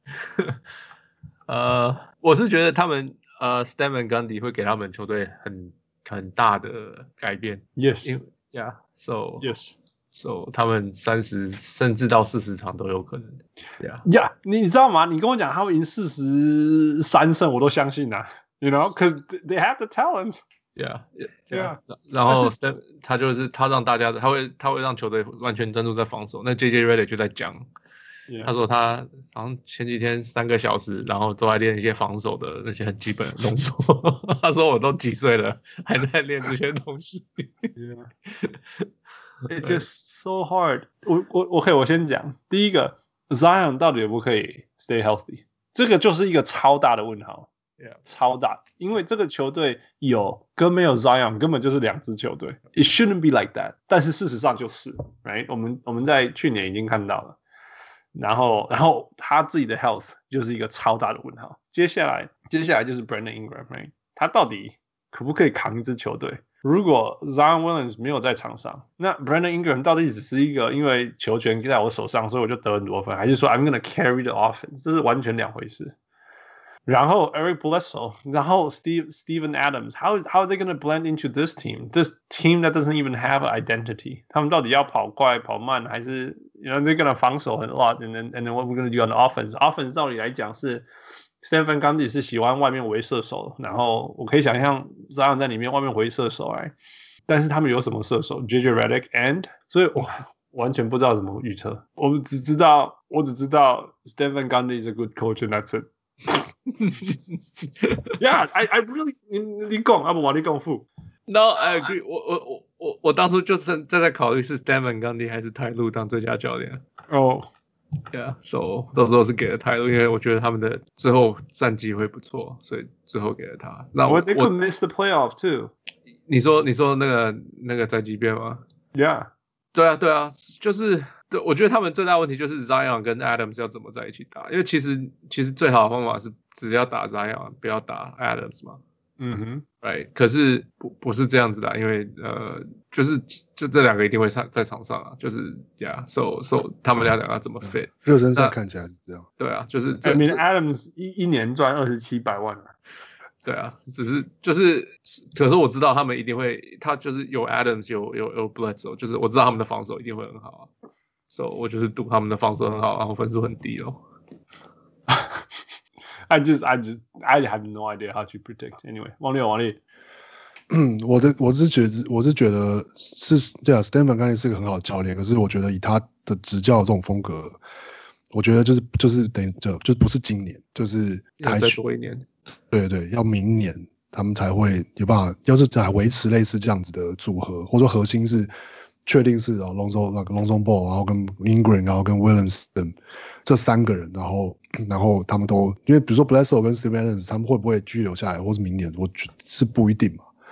呃，我是覺得他們呃 Stan Van Gundy 會給他們球隊很。很大的改變 ，Yes， Yeah，So Yes，So 他們三十甚至到四十場都有可能 ，Yeah，Yeah， 你知道嗎？你跟我講他會贏四十三勝，我都相信啊 ，You know，cause they have the talent。Yeah，Yeah， 然後他就是他讓大家，他會他會讓球隊完全專注在防守。那 J J Redick 就在講。Yeah. 他說他好像前幾天三個小時，然後都在練一些防守的那些很基本的動作。他說我都幾歲了，還在練這些東西。 Yeah. It's just so hard 我。我我 OK， 我先講第一個 ，Zion 到底可不可以 stay healthy？ 這個就是一個超大的問號。Yeah. 超大，因為這個球隊有跟沒有 Zion 根本就是兩支球隊。It shouldn't be like that， 但是事實上就是，right？ 我們我們在去年已經看到了。然後，然後他自己的 health 就是一個超大的問號。接下來，接下來就是 Brandon Ingram，right? 他到底可不可以扛一支球隊？如果 Zion Williams 沒有在場上，那 Brandon Ingram 到底只是一個因為球權在我手上，所以我就得很多分，還是說 I'm gonna carry the offense？ 這是完全兩回事。然後 Eric Bledsoe， 然後 Steve Steven Adams，how how are they gonna blend into this team? This team that doesn't even have an identity？ 他們到底要跑快跑慢，還是 you know they're gonna 防守很 lot？And then and then what we're gonna do on the offense？ Offense 照理來講是 Stan Van Gundy 是喜歡外面圍射手，然後我可以想象 Zion 在裡面外面圍射手哎，但是他們有什麼射手 ？J J Redick and 所以我完全不知道怎麼預測。我們只知道我只知道 Stan Van Gundy is a good coach and that's it。Yeah, I I really 你你講，要不我你講付。 No, I agree 我。我我我我我當初就是在在考慮是 Stan Van Gundy 還是泰路當最佳教練。 哦、oh. ，Yeah, so 到時候是給了泰路，因為我覺得他們的最後戰績會不錯，所以最後給了他。那我 They could miss the playoff too。 你說你說那個那個宅急便嗎 ？Yeah， 對啊對啊，就是。對，我覺得他們最大問題就是 Zion 跟 Adams 要怎麼在一起打，因為其實其實最好的方法是只要打 Zion， 不要打 Adams 嘛。 嗯哼， 對，可是不不是這樣子的，因為呃，就是就這兩個一定會在在場上啊，就是呀 ，so so 他們倆兩個怎麼 fit？ 熱身賽看起來是這樣。 對啊，就是這。 I mean Adams 一一年賺二十七百萬啊。 對啊，只是就是，可是我知道他們一定會，他就是有 Adams 有有有 Bledsoe，就是我知道他們的防守一定會很好啊。So 我就是賭他們的防守很好，然後分數很低哦。 I just, I just, I have no idea how to predict. Anyway， 王力，王力， 嗯，我的我是覺得，我是覺得是對啊 ，Stan Van Gundy是個很好的教練，可是我覺得以他的執教的這種風格，我覺得就是就是等於就就不是今年，就是還再多一年。 對對，要明年他們才會有辦法，要是再維持類似這樣子的組合，或者說核心是。確定是哦 ，Lonzo 那個 Lonzo Ball， 然後跟 Ingram， 然後跟 Williams 這三個人，然後然後他們都因為比如說 Bledsoe 跟 Steven Adams 他們會不會居留下來，或是明年我覺得是不一定嘛。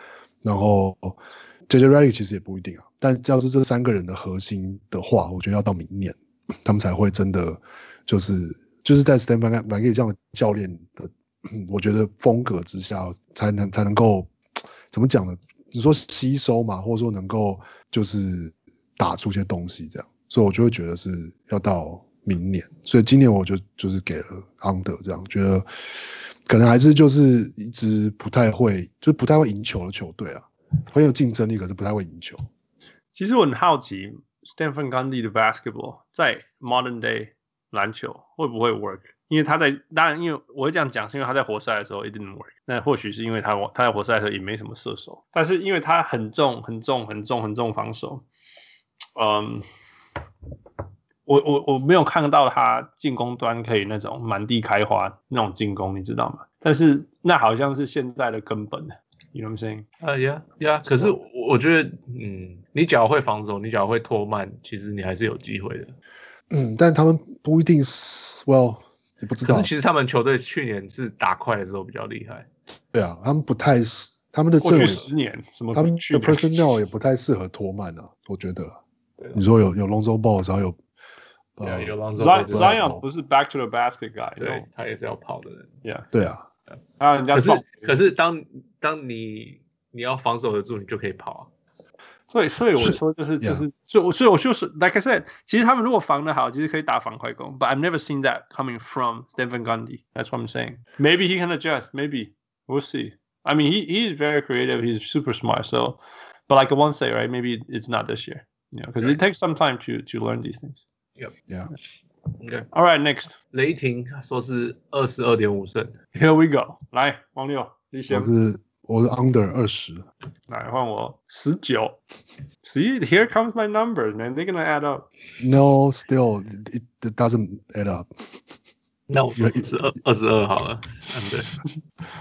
然後 J J Redick 其實也不一定啊，但要是這三個人的核心的話，我覺得要到明年他們才會真的就是就是在 Stan Van Gundy 這樣的教練的，我覺得風格之下才能才能夠怎麼講呢？你說吸收嘛，或者說能夠就是打出一些東西這樣，所以我就會覺得是要到明年，所以今年我就就是給了 under 這樣，覺得可能還是就是一支不太會，就是不太會贏球的球隊啊，很有競爭力，可是不太會贏球。 其實我很好奇 Stan Van Gundy 的 basketball 在 modern day 籃球會不會 work？ 因為他在當然，因為我會這樣講，是因為他在活塞的時候 it didn't work。那或許是因為他他在活塞的時候也沒什麼射手，但是因為他很重、很重、很重、很重防守，嗯，我我我沒有看到他進攻端可以那種滿地開花那種進攻，你知道嗎？但是那好像是現在的根本。You know what I'm saying? 呃、uh, ，Yeah, Yeah。可是我覺得，嗯，你只要會防守，你只要會拖慢，其實你還是有機會的。 嗯，但他們不一定是 ，Well， 也不知道。 可是其實他們球隊去年是打快的時候比較厲害。 對啊，他們不太，他們的過去十年什麼， 他們的 personnel 也不太適合拖慢啊，我覺得。你說有有 Lonzo Ball，然後有， 對啊，有 Lonzo Ball。Zion 不是 back to the basket guy， 對，他也是要跑的人。 Yeah， 对啊。 啊，人家可是可是當當你你要防守得住，你就可以跑啊。 所以所以我說就是就是，所以所以我就是 like I said， 其實他們如果防得好，其實可以打反快攻。But I've never seen that coming from Stan Van Gundy. That's what I'm saying. Maybe he can adjust. Maybe we'll see. I mean, he he is very creative. He's super smart. So, but like I won't say, right? Maybe it's not this year. You know, because it takes some time to to learn these things. Yep. Yeah. Okay. All right, next. 雷霆說是二十二點五勝。 Here we go. 來，王六，你先。 我是我是 under 二十。 來換我十九。See, here comes my numbers, man. They're gonna add up. No, still, it, it doesn't add up. 那我是二二十二好了。under。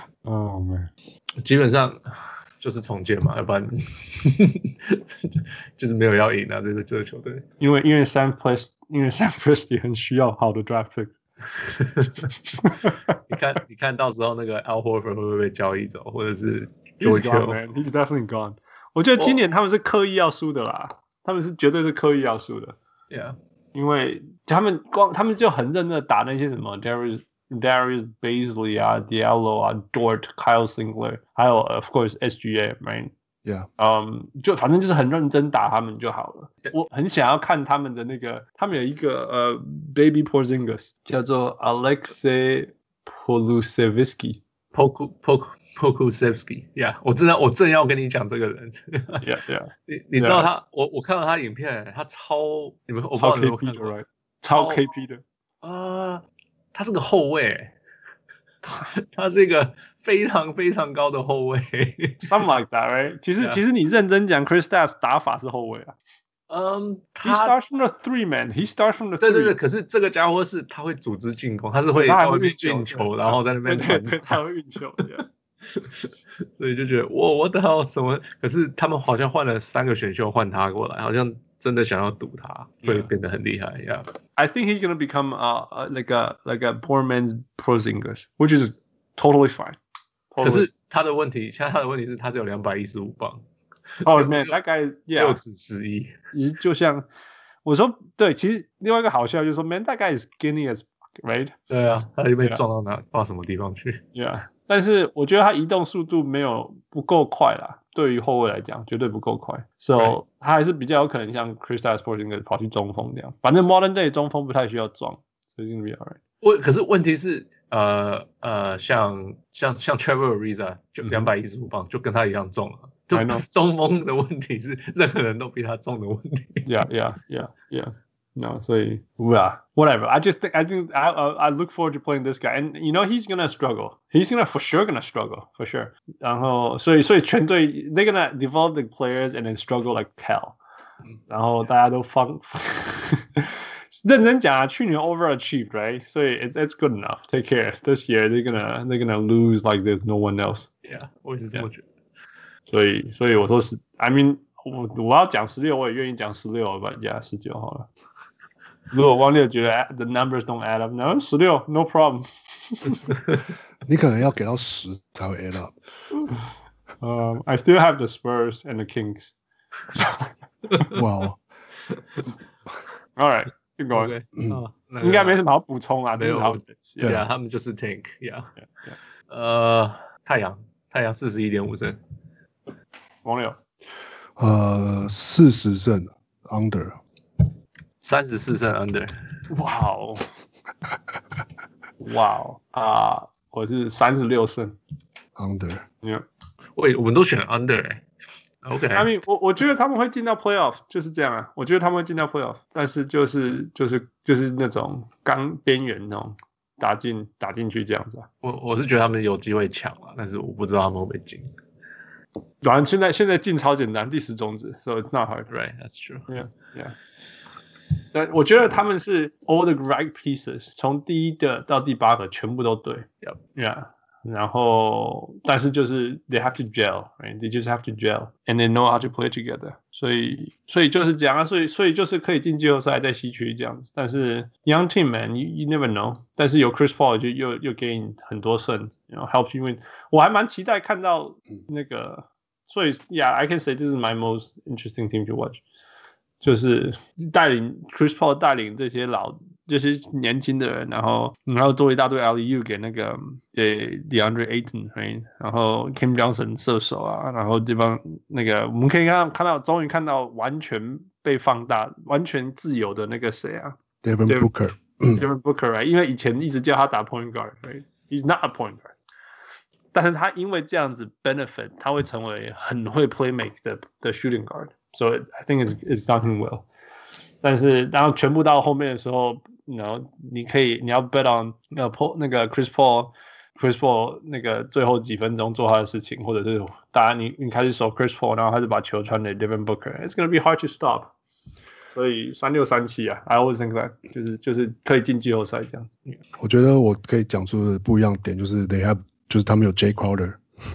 Oh man. 基本上就是重建嘛，要不然就是沒有要贏啊，這個這個球隊。 因為因為 Sam Presti 因為 Sam Presti 很需要好的 draft pick。 你看，你看到時候那個 Al Horford 會不會被交易走，或者是 George Hill？ He's gone, man. He's definitely gone. 我覺得今年他們是刻意要輸的啦， oh. 他們是絕對是刻意要輸的。 Yeah， 因為他們光他們就很認真的打那些什麼 Darius Darius Bazley 啊 Diallo 啊 Dort、Kyle Singler， 還有 of course S G A，right？Yeah， 嗯，就反正就是很認真打他們就好了。我很想要看他們的那個，他們有一個呃 Baby Porzingis 叫做 Alexei Polusevsky Poku Poku Pokusevsky，yeah， 我真的我正要跟你講這個人。 yeah yeah， 你你知道他， yeah. 我我看到他影片，他超你們我不知道你有沒有看過， right? 超 K P 的啊、呃，他是個後衛，他是一個非常非常高的後衛 ，something like that, right？ 其實、yeah. 其實你認真講 ，Kristaps 打法是後衛啊。 嗯、 um, ，He starts from the three man. He starts from the three. 對對對，可是這個家伙是他會組織進攻，他是會在外面運球，然後在那邊傳。 對對，他會運球。 所以就覺得哇，我的好什麼？可是他們好像換了三個選秀換他過來，好像真的想要賭他會變得很厲害。Yeah, I think he's gonna become uh like a like a poor man's Porzingis, which is totally fine. Totally. 可是他的問題，現在他的問題是他只有兩百一十五磅。 Oh man, that guy, yeah. 六尺十一。 就像我說，對，其實另外一個好笑就是說 ，man, that guy is skinny as fuck, right? 對啊，他就被撞到哪，到什麼地方去 ？Yeah. 但是我覺得他移動速度沒有不夠快啦，對於後衛來講絕對不夠快，所以、so, 他還是比較有可能像 Kristaps Porzingis 跑去中鋒這樣。反正 Modern Day 中鋒不太需要撞，所以 it's gonna be alright。 我可是問題是，呃呃，像像像 Trevor Ariza 就兩百一十五磅，就跟他一樣重了。就中鋒的問題是，任何人都比他重的問題。 Yeah, yeah, yeah, yeah. No, 所以 yeah, whatever. I just think I think I I look forward to playing this guy, and you know he's gonna struggle. He's gonna for sure gonna struggle for sure. 然後所以所以全隊 they're gonna develop the players and then struggle like hell. 然後大家都放認真講啊，去年 overachieved, right? 所以 it's it's good enough. Take care. This year they're gonna they're gonna lose like there's no one else. Yeah, 我也是這麼覺得。 所以所以我說是 I mean 我我要講十六，我也願意講十六，but yeah 十九好了。如果汪六覺得 the numbers don't add up， no 十六 no problem 。 你可能要給到十才會 add up。 Um, I still have the Spurs and the Kings. Wow. All right, keep going. Okay. 嗯哦，那个应该没什么好补充啊， 没有这是好对啊，他们就是 tank，yeah。 Yeah, yeah. 呃，太陽，太陽四十一點五勝。 王柳， 呃，四十勝 under， 三十四勝 under。 哇哦，哇哦啊！我是三十六勝 under。 Yeah. 喂，我們都選 under 哎、欸。OK。 I mean， 我我覺得他們會進到 playoff， 就是這樣啊。我覺得他們會進到 playoff， 但是就是就是就是那種剛邊緣那種打進打進去這樣子啊。 我我是覺得他們有機會搶了，但是我不知道他們會不會進。 反正現在現在進超簡單，第十種子 ，so it's not hard. Right, that's true. Yeah, yeah. 但我覺得他們是 all the right pieces， 從第一個到第八個全部都對。 Yep. Yeah. 然後，但是就是 they have to gel, right? They just have to gel, and they know how to play together. 所以，所以就是這樣啊。所以，所以就是可以進季後賽，在西區這樣子。但是 young team man, you you never know. 但是有 Chris Paul 就又又給你很多勝 ，you know, help you win. 我還蠻期待看到那個，所以 yeah, I can say this is my most interesting team to watch. 就是帶領 Chris Paul 帶領這些老這些年輕的人，然後然後多一大堆 alley-oop 給那個給 DeAndre Ayton，right? 然後 Cam Johnson 射手啊，然後這幫那個我們可以看到看到終於看到完全被放大、完全自由的那個誰啊 Devin Booker，Devin Booker，right? 因為以前一直叫他打 point guard，right? He's not a point guard， 但是他因為這樣子 benefit， 他會成為很會 play make 的的 shooting guard。So I think it's it's done him well， 但是然後全部到後面的時候，然後你可以你要 bet on 那個 Paul 那個 Chris Paul Chris Paul 那個最後幾分鐘做他的事情，或者是當然你你開始守 Chris Paul， 然後他就把球傳給 Devin Booker， it's gonna be hard to stop。所以三六三七啊 ，I always think that 就是就是可以進季後賽這樣子。 我覺得我可以講出的不一樣點就是 they have 就是他們有 Jay Crowder。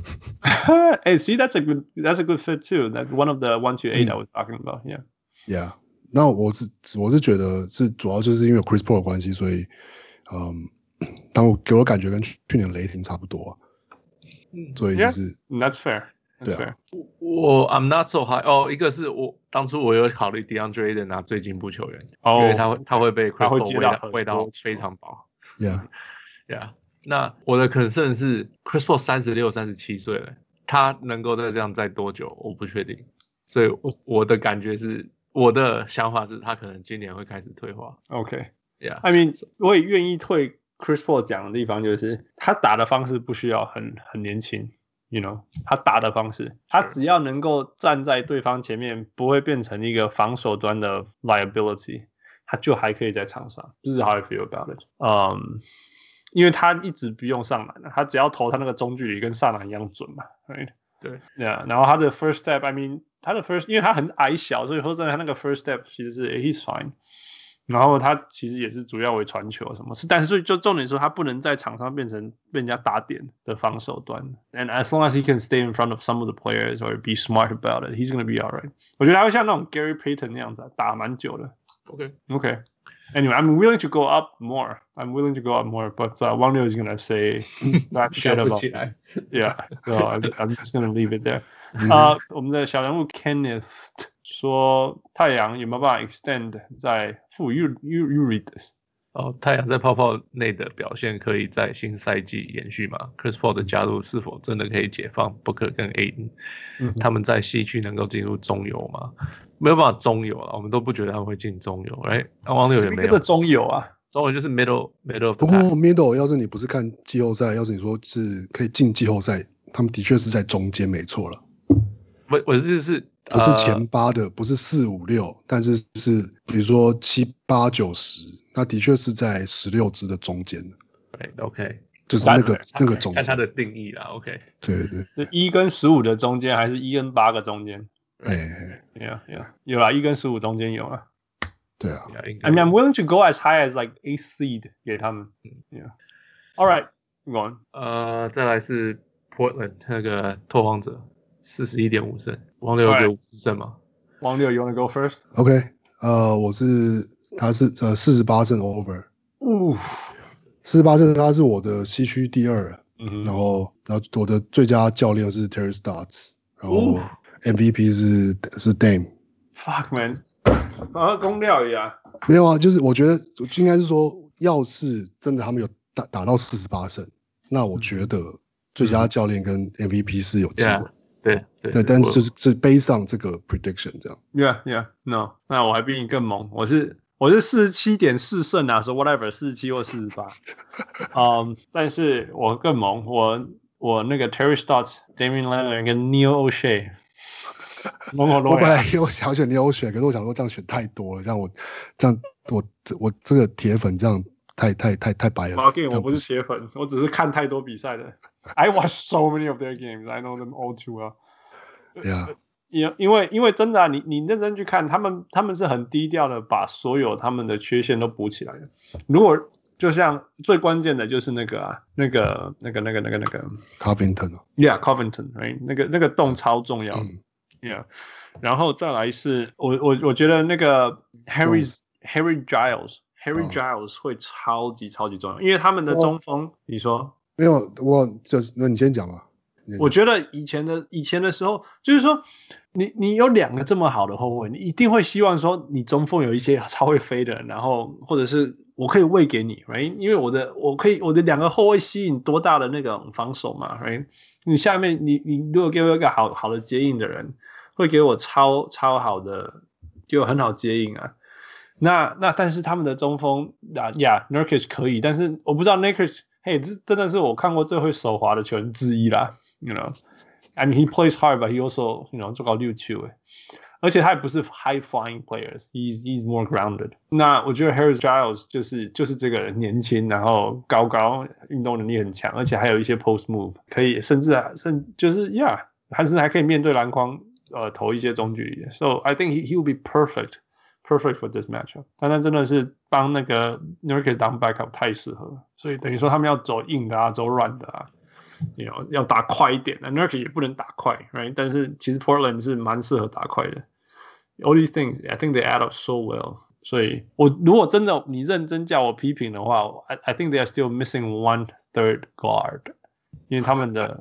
Hey, see, that's a good that's a good fit too. That's one of the one to eight I was talking about. Yeah, yeah. 那我是我是覺得是主要就是因為 Chris Paul 的關係，所以嗯，但我給我感覺跟去年雷霆差不多、啊，所以就是 yeah, that's fair. That's fair. 我 I'm not so high。哦，一個是我當初我有考慮 DeAndre Ayton 拿最進步球員，哦、因為他會他會被 Chris Paul 餵到餵到非常飽。 Yeah, yeah. 那我的 concern 是 Chris Paul 三十六、三十七歲了，他能夠再這樣再多久？我不確定。所以我的感覺是，我的想法是他可能今年會開始退化。 OK， yeah. I mean， 我也願意退 Chris Paul 講的地方就是他打的方式不需要很很年輕 ，you know， 他打的方式，他只要能夠站在對方前面，不會變成一個防守端的 liability， 他就還可以在場上。這是 how I feel about it。嗯、um,。因為他一直不用上籃，他只要投他那個中距離跟上籃一樣準嘛 ，right？ 對， yeah, 然後他的 first step，I mean， 他的 first， 因為他很矮小，所以說真的他那個 first step 其實是 he's fine。然後他其實也是主要為傳球什麼，是，但是所以就重點說他不能在場上變成被人家打點的防守端。And as long as he can stay in front of some of the players or be smart about it, he's gonna be alright。我覺得他會像那種 Gary Payton 那樣子、啊、打蠻久的。 OK OK。Anyway, I'm willing to go up more. I'm willing to go up more, but uh, Wang Liu is gonna say that shit about. Yeah, so I'm, I'm just gonna leave it there. 呃、uh, ，我們的小人物 Kenneth 說，太陽有沒有辦法 extend 在負 you you you read this？ 哦，太陽在泡泡內的表現可以在新賽季延續嗎 ？Chris Paul 的加入是否真的可以解放 Booker 跟 Ayton？、嗯、他們在西區能夠進入中游嗎？沒有辦法中游了，我們都不覺得他們會進中游。哎，王六也沒有。這個中游啊，中游就是 middle middle。 不過 middle 要是你不是看季後賽，要是你說是可以進季後賽，他們的確是在中間，沒錯了。 我我是是不是前八的，呃、不是四五六，但是是比如說七八九十，那的確是在十六支的中間。 對 ，OK， 就是那個那個中間。 看它的定義啦 ，OK。 對對對， 是一跟十五的中間，還是一跟八個中間？ 哎、欸， 有有有啦，一跟十五中間有啊。 對啊 ，I mean I'm willing to go as high as like eighth seed 給他們。Yeah. All right, go on. 呃，再來是 Portland 那個拓荒者，四十一點五勝，王六有五十勝嗎？ 王六 ，you wanna go first? OK， 呃，我是他是呃四十八勝 over。 嗚， 四十八勝他是我的西區第二， 嗯、 然後然後我的最佳教練是 Terry Stotts， 然後 M V P 是是 Dame。Fuck man， 好像公料一樣。 沒有啊，就是我覺得應該是說，要是真的他們有打打到四十八勝，那我覺得最佳教練跟 M V P 是有機會。 Yeah, 對對對，但是就是是 based on 這個 prediction 這樣。 Yeah yeah no， 那我還比你更猛，我是。我是四十七點四勝啊，說 whatever 四十七或四十八，嗯，但是我更猛，我我那個 Terry Stotts、Damian Lillard 跟 Neil O'Shea， 猛猛我本來有想選 Neil O'Shea， 可是我想說這樣選太多了，這樣我這樣我我這個鐵粉這樣太太太太白了。 Okay, 我不是鐵粉，我只是看太多比賽的。I watch so many of their games, I know them all too well. Yeah. 因因為因為真的啊，你你認真去看，他們他們是很低調的，把所有他們的缺陷都補起來的。如果就像最關鍵的就是那個啊，那個那個那個那個那個 Covington，Yeah Covington，right？ 那個那個洞超重要的、嗯、，Yeah。然後再來是我我我覺得那個 Harry Harry Giles，Harry Giles 會超級超級重要，因為他們的中鋒，你說沒有？我就是那你先講吧。 我覺得以前的以前的時候，就是說你你有兩個這麼好的後衛，你一定會希望說你中鋒有一些超會飛的人，然後或者是我可以餵給你 ，right？ 因為我的我可以我的兩個後衛吸引多大的那種防守嘛 ，right？ 你下面你你如果給我一個好好的接應的人，會給我超超好的，就很好接應啊。那那但是他們的中鋒啊呀 Nurkic 可以，但是我不知道 Nurkic， 嘿，這真的是我看過最會手滑的球員之一啦。You know, I mean, he plays hard, but he also, you know, 做到六球誒，而且他也不是 high flying players. He's he's more grounded. 那我覺得 Harry Giles 就是就是這個人年輕，然後高高，運動能力很強，而且還有一些 post move 可以，甚至甚就是 yeah， 還是還可以面對籃筐，呃，投一些中距離的。So I think he he will be perfect, perfect for this matchup. 但他真的是幫那個 Nurkic 當 backup 太適合了，所以等於說他們要走硬的啊，走軟的啊。You know, 要打快一點 Nurkic 也不能打快 right? 但是其實 Portland 是蠻適合打快的 All these things, I think they add up so well 所以我如果真的你認真叫我批評的話 I, I think they are still missing one third guard 因為他們的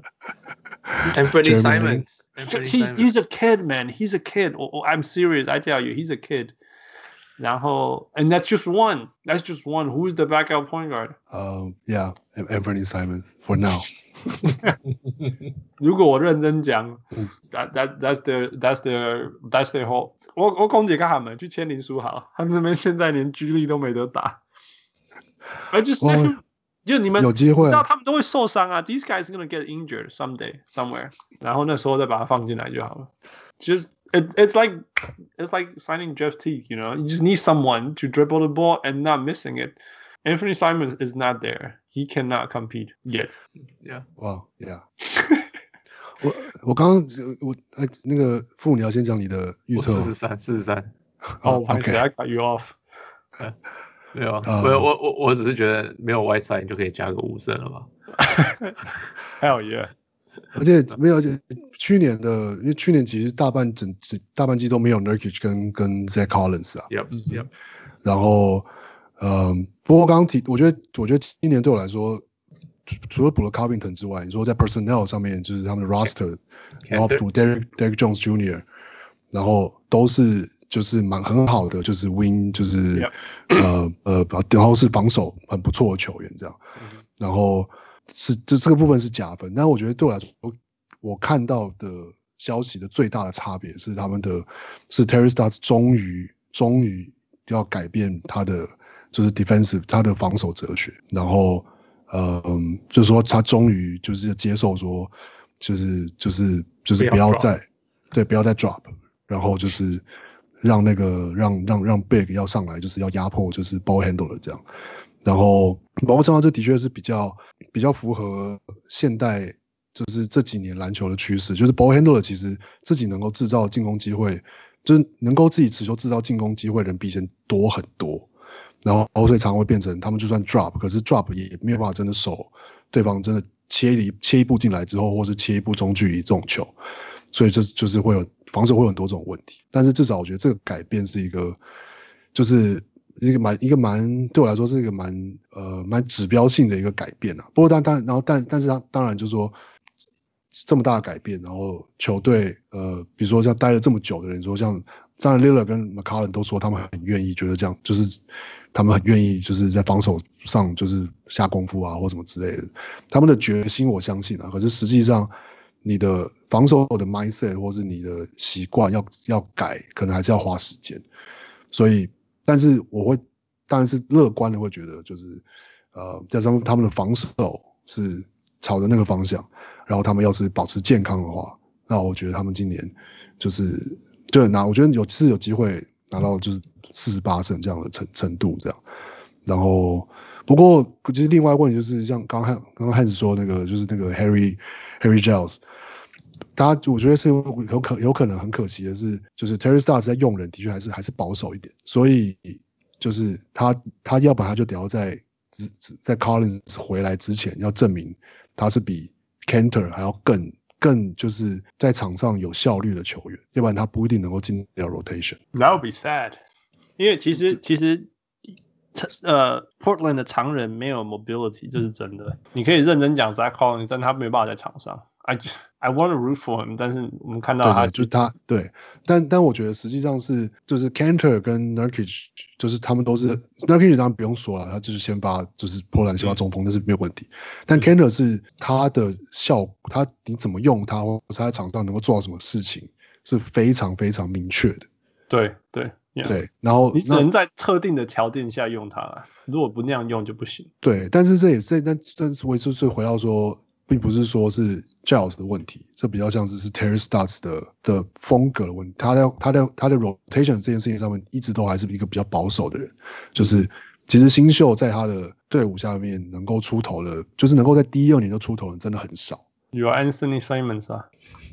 Anthony Simons he's, he's a kid man He's a kid oh, I'm serious I tell you He's a kid然後 and that's just one That's just one Who's the backup point guard? Um, yeah, Anthony Simons for now 如果我認真講 that, that, that's their that's their that's their whole 我我攻擊他們去簽林書豪他們那邊現在連居力都沒得打而就是就你們有機會知道他們都會受傷啊 These guys are gonna get injured someday somewhere 然後那時候再把它放進來就好了 Just it, it's like it's like signing Jeff Teague you know You just need someone to dribble the ball and not missing it Anthony Simons is not there. He cannot compete yet. Yeah. Wow. Yeah. 我我剛剛我哎那個傅你要先講你的預測。 四十三，四十三。 哦，我還是 I cut you off. 沒有，沒有，我我我只是覺得沒有 Whiteside 你就可以加個五勝了吧。 Hell yeah. 而且沒有，而且去年的，因為去年其實大半整大半季都沒有 Nurkic 跟跟 Zach Collins 啊。 Yep. Yep. 然後。嗯，不過剛剛提，我覺得，我覺得今年對我來說，除了補了 Covington 之外，你說在 personnel 上面，就是他們的 roster， 然後補 Derek Derek Jones Junior， 然後都是就是蠻很好的，就是 win， 就是、yep. 呃呃，然後是防守很不錯的球員這樣， mm-hmm. 然後是這這個部分是加分，但我覺得對我來說，我看到的消息的最大的差別是他們的，是 Terry Stotts 終於終於要改變他的。就是 defensive 他的防守哲學，然後，嗯，就是說他終於就是接受說，就是就是就是不要再，對，不要再 drop， 然後就是讓那個讓讓讓 big 要上來，就是要壓迫，就是 ball handler 這樣，然後包括上這的確是比較比較符合現代就是這幾年籃球的趨勢，就是 ball handler 其實自己能夠制造進攻機會，就是能夠自己持球制造進攻機會的人比以前多很多。然後，所以常常會變成他們就算 drop， 可是 drop 也沒有辦法真的守對方真的切一切一步進來之後，或是切一步中距離這種球，所以就就是會有防守會有很多這種問題。但是至少我覺得這個改變是一個，就是一個蠻一個蠻對我來說是一個蠻呃蠻指標性的一個改變啊。不過但但然後但但是他當然就是說這麼大的改變，然後球隊呃比如說像待了這麼久的人說像當然 Lillard 跟 McCollum 都說他們很願意，覺得這樣就是他們很願意就是在防守上就是下功夫啊或什麼之類的，他們的決心我相信啊。可是實際上你的防守的 mindset 或是你的習慣要要改，可能還是要花時間。所以，但是我會當然是樂觀的，會覺得就是呃，加上他們的防守是朝着那個方向，然後他們要是保持健康的話，那我覺得他們今年就是對拿，我覺得有是有機會拿到就是四十八勝這樣的程程度這樣。然後，不過其實另外一個問題就是像剛剛剛剛漢子說那個就是那個 Harry Harry Giles。大家我覺得是有可有可能很可惜的是，就是 Terry Stotts 在用人的確還是還是保守一點，所以就是他他要不然他就得要在在 Collins 回來之前要證明他是比 Kanter 還要更更就是在場上有效率的球員，要不然他不一定能夠進掉 rotation。That would be sad， 因為其實其實呃 Portland 的常人沒有 mobility， 這是真的。你可以認真講 Zach Collins， 但他沒有辦法在場上。I just, I want to root for him， 但是我們看到他， 對對就是他對，但但我覺得實際上是就是 Kanter 跟 Nurkic， 就是他們都是 Nurkic 當然不用說了，他就是先發就是波蘭先發中鋒，那、嗯、是沒有問題。但 Kanter 是他的效，他你怎麼用他，或者他在場上能夠做到什麼事情，是非常非常明確的。 對對 yeah. 對，然後你只能在特定的條件下用它，如果不那樣用就不行。 對，但是這也是但但是我就是回到說。並不是說是 Giles 的問題，這比較像是是 Terry Stotts 的的風格的問題。他在他在他在 rotation 這件事情上面一直都還是一個比較保守的人，就是其實新秀在他的隊伍下面能夠出頭的，就是能夠在第一二年就出頭的人真的很少。 有 Anthony Simons 啊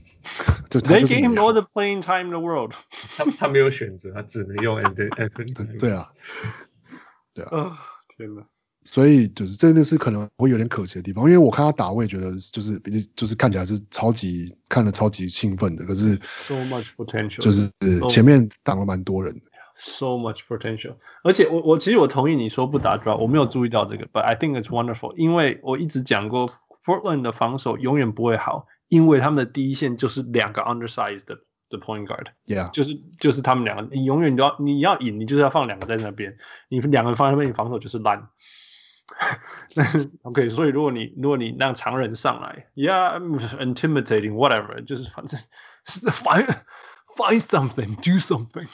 ，They gave him all the playing time in the world 他。他沒有選擇，他只能用 Anthony。 對, 對啊，對啊。 哦，天哪！ 所以就是真的是可能會有點可惜的地方，因為我看他打，我也覺得就是就是看起來是超級看得超級興奮的，可是 so much potential， 就是前面擋了蠻多人的 ，so much potential。而且我我其實我同意你說不打 draw， 我沒有注意到這個 ，but I think it's wonderful， 因為我一直講過 Portland 的防守永遠不會好，因為他們的第一線就是兩個 undersized 的的 point guard，yeah， 就是就是他們兩個，你永遠都要你要贏，你就是要放兩個在那邊，你兩個放在那邊，你防守就是爛。OK， 所以如果你如果你讓常人上來 ，Yeah, intimidating, whatever， 就是反正 find find something, do something。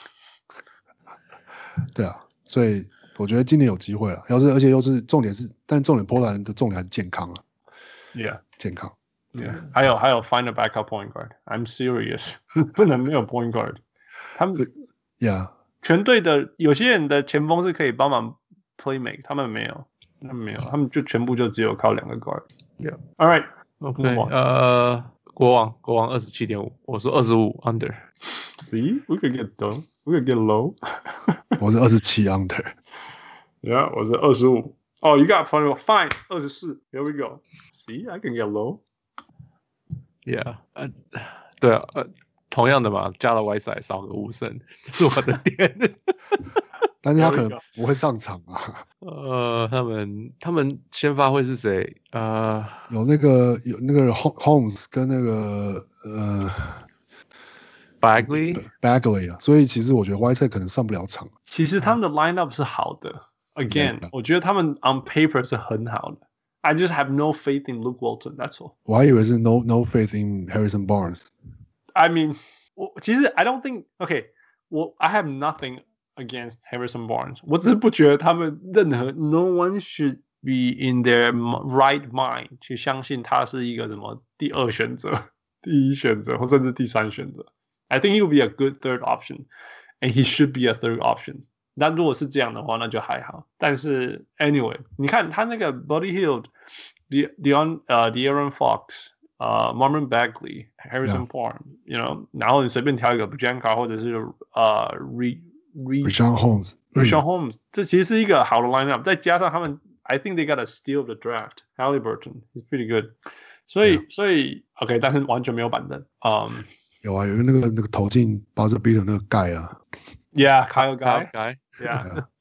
对啊，所以我覺得今年有機會了。要是而且又是重點是，但重點波蘭的重點還是健康啊。 Yeah， 健康。 Yeah， 還有還有 find a backup point guard. I'm serious， 不能沒有 point guard。他們 ，Yeah， 全隊的有些人的前鋒是可以幫忙 play make， 他們沒有。他們沒有，他們就全部就只有靠兩個 guard。Yeah. All right. OK. 呃，國王，國王二十七點五，我說二十五 under。 See, we could get low. We could get low. 我是二十七 under。 Yeah, 我是二十五。Oh, you got fine. Fine. 二十四。Here we go. See, I can get low. Yeah. 呃，對啊，呃，同樣的嘛，加了 Whiteside 少個五勝，這是我的點。 但是他可能不會上場啊。 呃，他們他們先發會是誰？呃， 有那個有那個 Holmes 跟那個呃 Bagley Bagley 啊，所以其實我覺得 Whiteside 可能上不了場。 其實他們的 lineup 是好的 ，Again，、嗯、我覺得他們 on paper 是很好的。I just have no faith in Luke Walton. That's all. 我還以為是 no no faith in Harrison Barnes. I mean， 我其實 I don't think. OK， 我 I have nothing against Harrison Barnes. 我只是不覺得他們任何 no one should be in their right mind 去相信他是一個什麼第二選擇、第一選擇或甚至第三選擇。I think he would be a good third option, and he should be a third option. 那如果是這樣的話，那就還好。但是 anyway， 你看他那個 Buddy Hield、De Deon 呃 De'Aaron Fox、呃 Marvin Bagley、Harrison Barnes，you know， 然後你隨便挑一個 Bujanka 或者是呃 Re Richaun Holmes，Richaun Holmes， 這其實是一個好的 lineup， 再加上他們 ，I think they got a steal of the draft， Haliburton is pretty good， 所以、yeah. 所以 OK， 但是完全沒有板凳，嗯、um, ， 有啊，有一個那個那個投進 buzzer beater 那個蓋啊 ，Yeah，Kyle Guy，Yeah，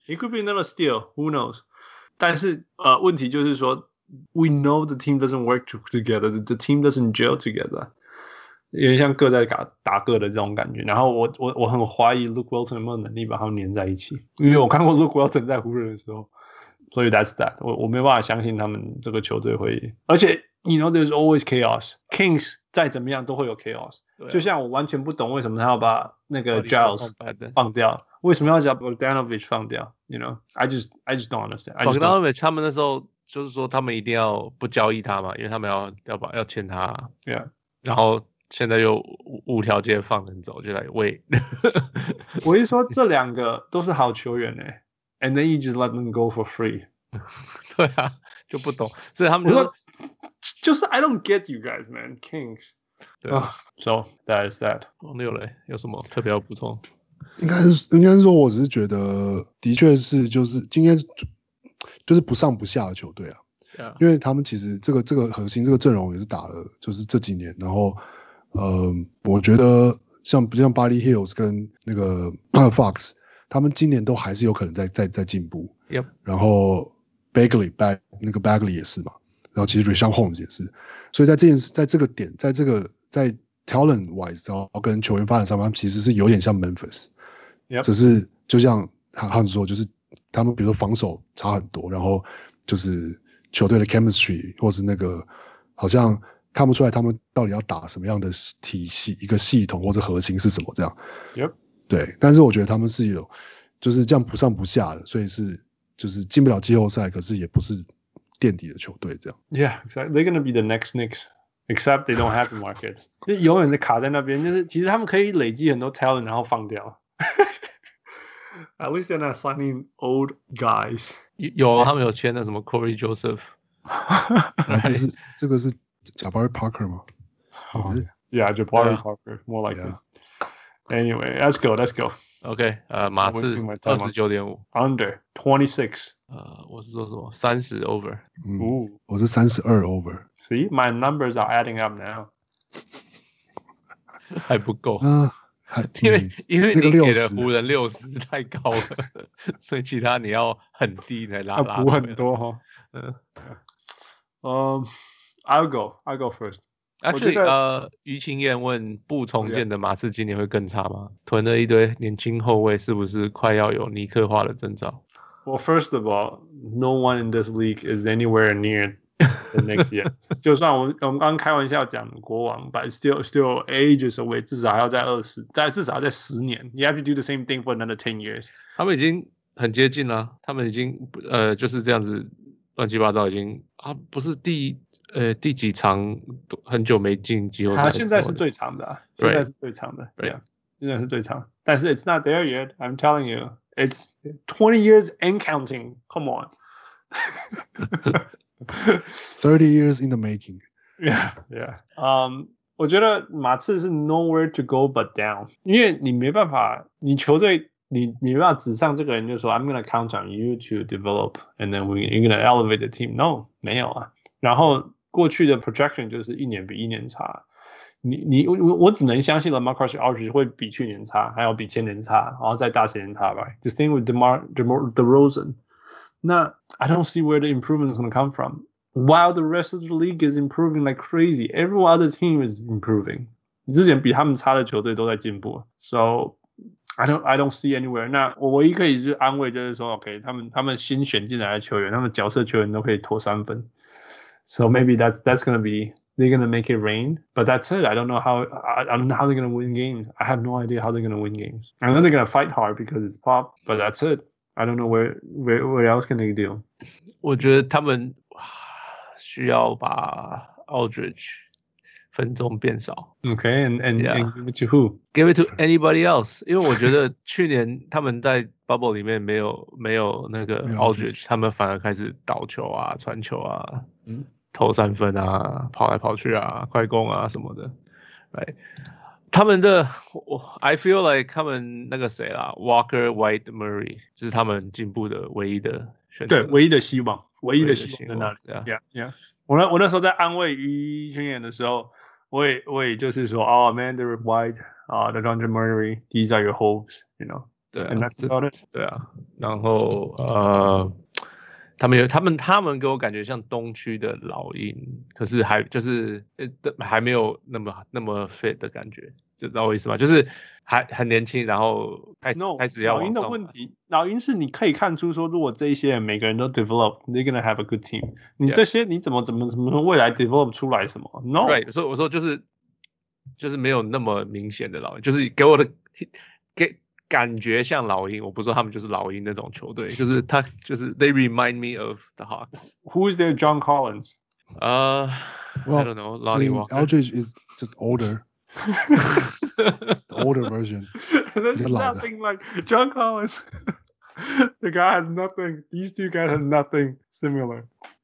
It could be another steal. Who knows? 但是呃，問題就是說 ，we know the team doesn't work together. The team doesn't gel together. 有點像各在打打各的這種感覺。然後我我我很懷疑 Luke Walton 有沒有能力把他們黏在一起，因為我看過 Luke Walton 在湖人的時候，所以 that's that 我。我我沒辦法相信他們這個球隊會，而且 you know there's always chaos. Kings 再怎麼樣都會有 chaos。啊、就像我完全不懂為什麼他要把那個 Giles 放掉，為什麼要把 Bogdanovic 放掉 ？You know, I just I just don't understand. Bogdanovic 他們那時候就是說他們一定要不交易他嘛，因為他們要要把要簽他。 Yeah， 然後。現在又無條件放人走，就來喂。 我一說這兩個都是好球員哎 ，and then you just let them go for free。 對啊，就不懂，所以他們就說就是 I don't get you guys, man, Kings。對啊、oh, ，so that is that。 王六嘞，有什麼特別要補充？ 應該是應該是說，我只是覺得，的確是就是今天就是不上不下的球隊啊。Yeah. 因為他們其實這個這個核心這個陣容也是打了，就是這幾年，然後。呃，我覺得像像 Buddy Hield 跟那個 Fox， 他們今年都還是有可能在在在進步。 Yep. 然後 Bagley Bag 那個 Bagley 也是嘛，然後其實 Richaun Holmes 也是，所以在這件事，在這個點，在這個在 talent wise， 然後跟球員發展上面，他們其實是有點像 Memphis， Yep. 只是就像漢子說，就是他們比如說防守差很多，然後就是球隊的 chemistry 或是那個好像。看不出來他們到底要打什麼樣的體系，一個系統或者核心是什麼這樣。 Yep. 對，但是我覺得他們是有就是這樣不上不下的，所以是就是進不了季後賽，可是也不是墊底的球隊這樣。 Yeah, exactly. They're gonna be the next Knicks, except they don't have the market. 就永遠是卡在那邊，就是其實他們可以累積很多 talent， 然後放掉。At least they're not signing old guys. 有，他們有簽的什麼 Corey Joseph。 這是這個是。Jabari Parker 嗎？ Oh, yeah, Jabari yeah. Parker, more like yeah. it. Anyway, let's go, let's go. OK， 呃，馬刺二十九點五 ，Under twenty-six。 呃，我是說什麼？三十 over。 嗯，我是三十二 over。 See, my numbers are adding up now. 還不夠啊， 因為因為你給的湖人六十太高了，所以其他你要很低才拉拉。 補很多哈。嗯，嗯。I'll go. I'll go first. Actually, 呃，於清燕問不重建的馬刺今年會更差嗎？囤了一堆年輕後衛，是不是快要有尼克化的徵兆 ？Well, first of all, no one in this league is anywhere near the next year. 就算我我們剛剛開玩笑講國王 ，but still still ages away， 至少還要在二十，在至少要在十年。You have to do the same thing for another ten years. 他們已經很接近了，他們已經呃就是這樣子亂七八糟，已經啊不是第。呃，第幾場很久沒進季後賽？他現在是最長的、啊，現在是最長的，對啊，現在是最長。但是 it's not there yet. I'm telling you, it's twenty years and counting. Come on, thirty years in the making. Yeah, yeah. Um, 我覺得馬刺是 nowhere to go but down， 因為你沒辦法，你球隊你你沒辦法指上這個人就說 I'm gonna count on you to develop, and then we you're gonna elevate the team. No， 沒有啊。然後過去的 projection 就是一年比一年差，你你我我只能相信了 LaMarcus Aldridge 會比去年差，還要比前年差，然後再大前年差吧。The thing with DeMar DeMar DeRozan， 那 I don't see where the improvement is going to come from. While the rest of the league is improving like crazy, every other team is improving. 之前比他們差的球隊都在進步 ，so I don't I don't see anywhere. 那我唯一可以是安慰就是說 ，OK， 他們他們新選進來的球員，他們角色球員都可以投三分。So maybe that's that's gonna be they're gonna make it rain, but that's it. I don't know how I, I don't know how they're gonna win games. I have no idea how they're gonna win games. I know they're gonna fight hard because it's pop, but that's it. I don't know where where where else can they do? 我覺得他們需要把 Aldridge 分鐘變少。 Okay, and and, yeah. and give it to who? Give it to anybody else. 因為我覺得去年他們在 bubble 裡面沒有沒有那個 Aldridge， 他們反而開始倒球啊、傳球啊。嗯。投三分啊，跑來跑去啊，快攻啊什麼的，right？ 他們的我 I feel like 他們那個誰啦 ，Walker White Murray， 這是他們進步的唯一的選擇， 對，唯一的希望，唯一的希望在那裡。 Yeah, yeah, yeah. 我那我那時候在安慰於宣言的時候，我也我也就是說，哦 ，Amanda White 啊 ，DeJounte Murray，these are your hopes，you know。 對啊， And that's about it. 對啊，然後呃，他們有他們他們給我感覺像東區的老鷹，可是還就是還沒有那麼那麼 fit 的感覺，知道我意思嗎？就是還很年輕，然後開始 No, 開始要往上。 老鷹的問題，老鷹是你可以看出說，如果這一些人每個人都 develop, they're gonna have a good team. 你這些你怎麼怎麼怎麼未來 develop 出來什麼 ？No， 對，所以我說就是就是沒有那麼明顯的老鷹，就是給我的給。感覺像老鷹，我不知道他們就是老鷹那種球隊，就是他就是 they remind me of the Hawks. Who is their John Collins? Uh, well, I don't know. Lonnie I mean, Walker. Aldridge is just older. The older version. There's nothing like John Collins. The guy has nothing. These two guys have nothing similar.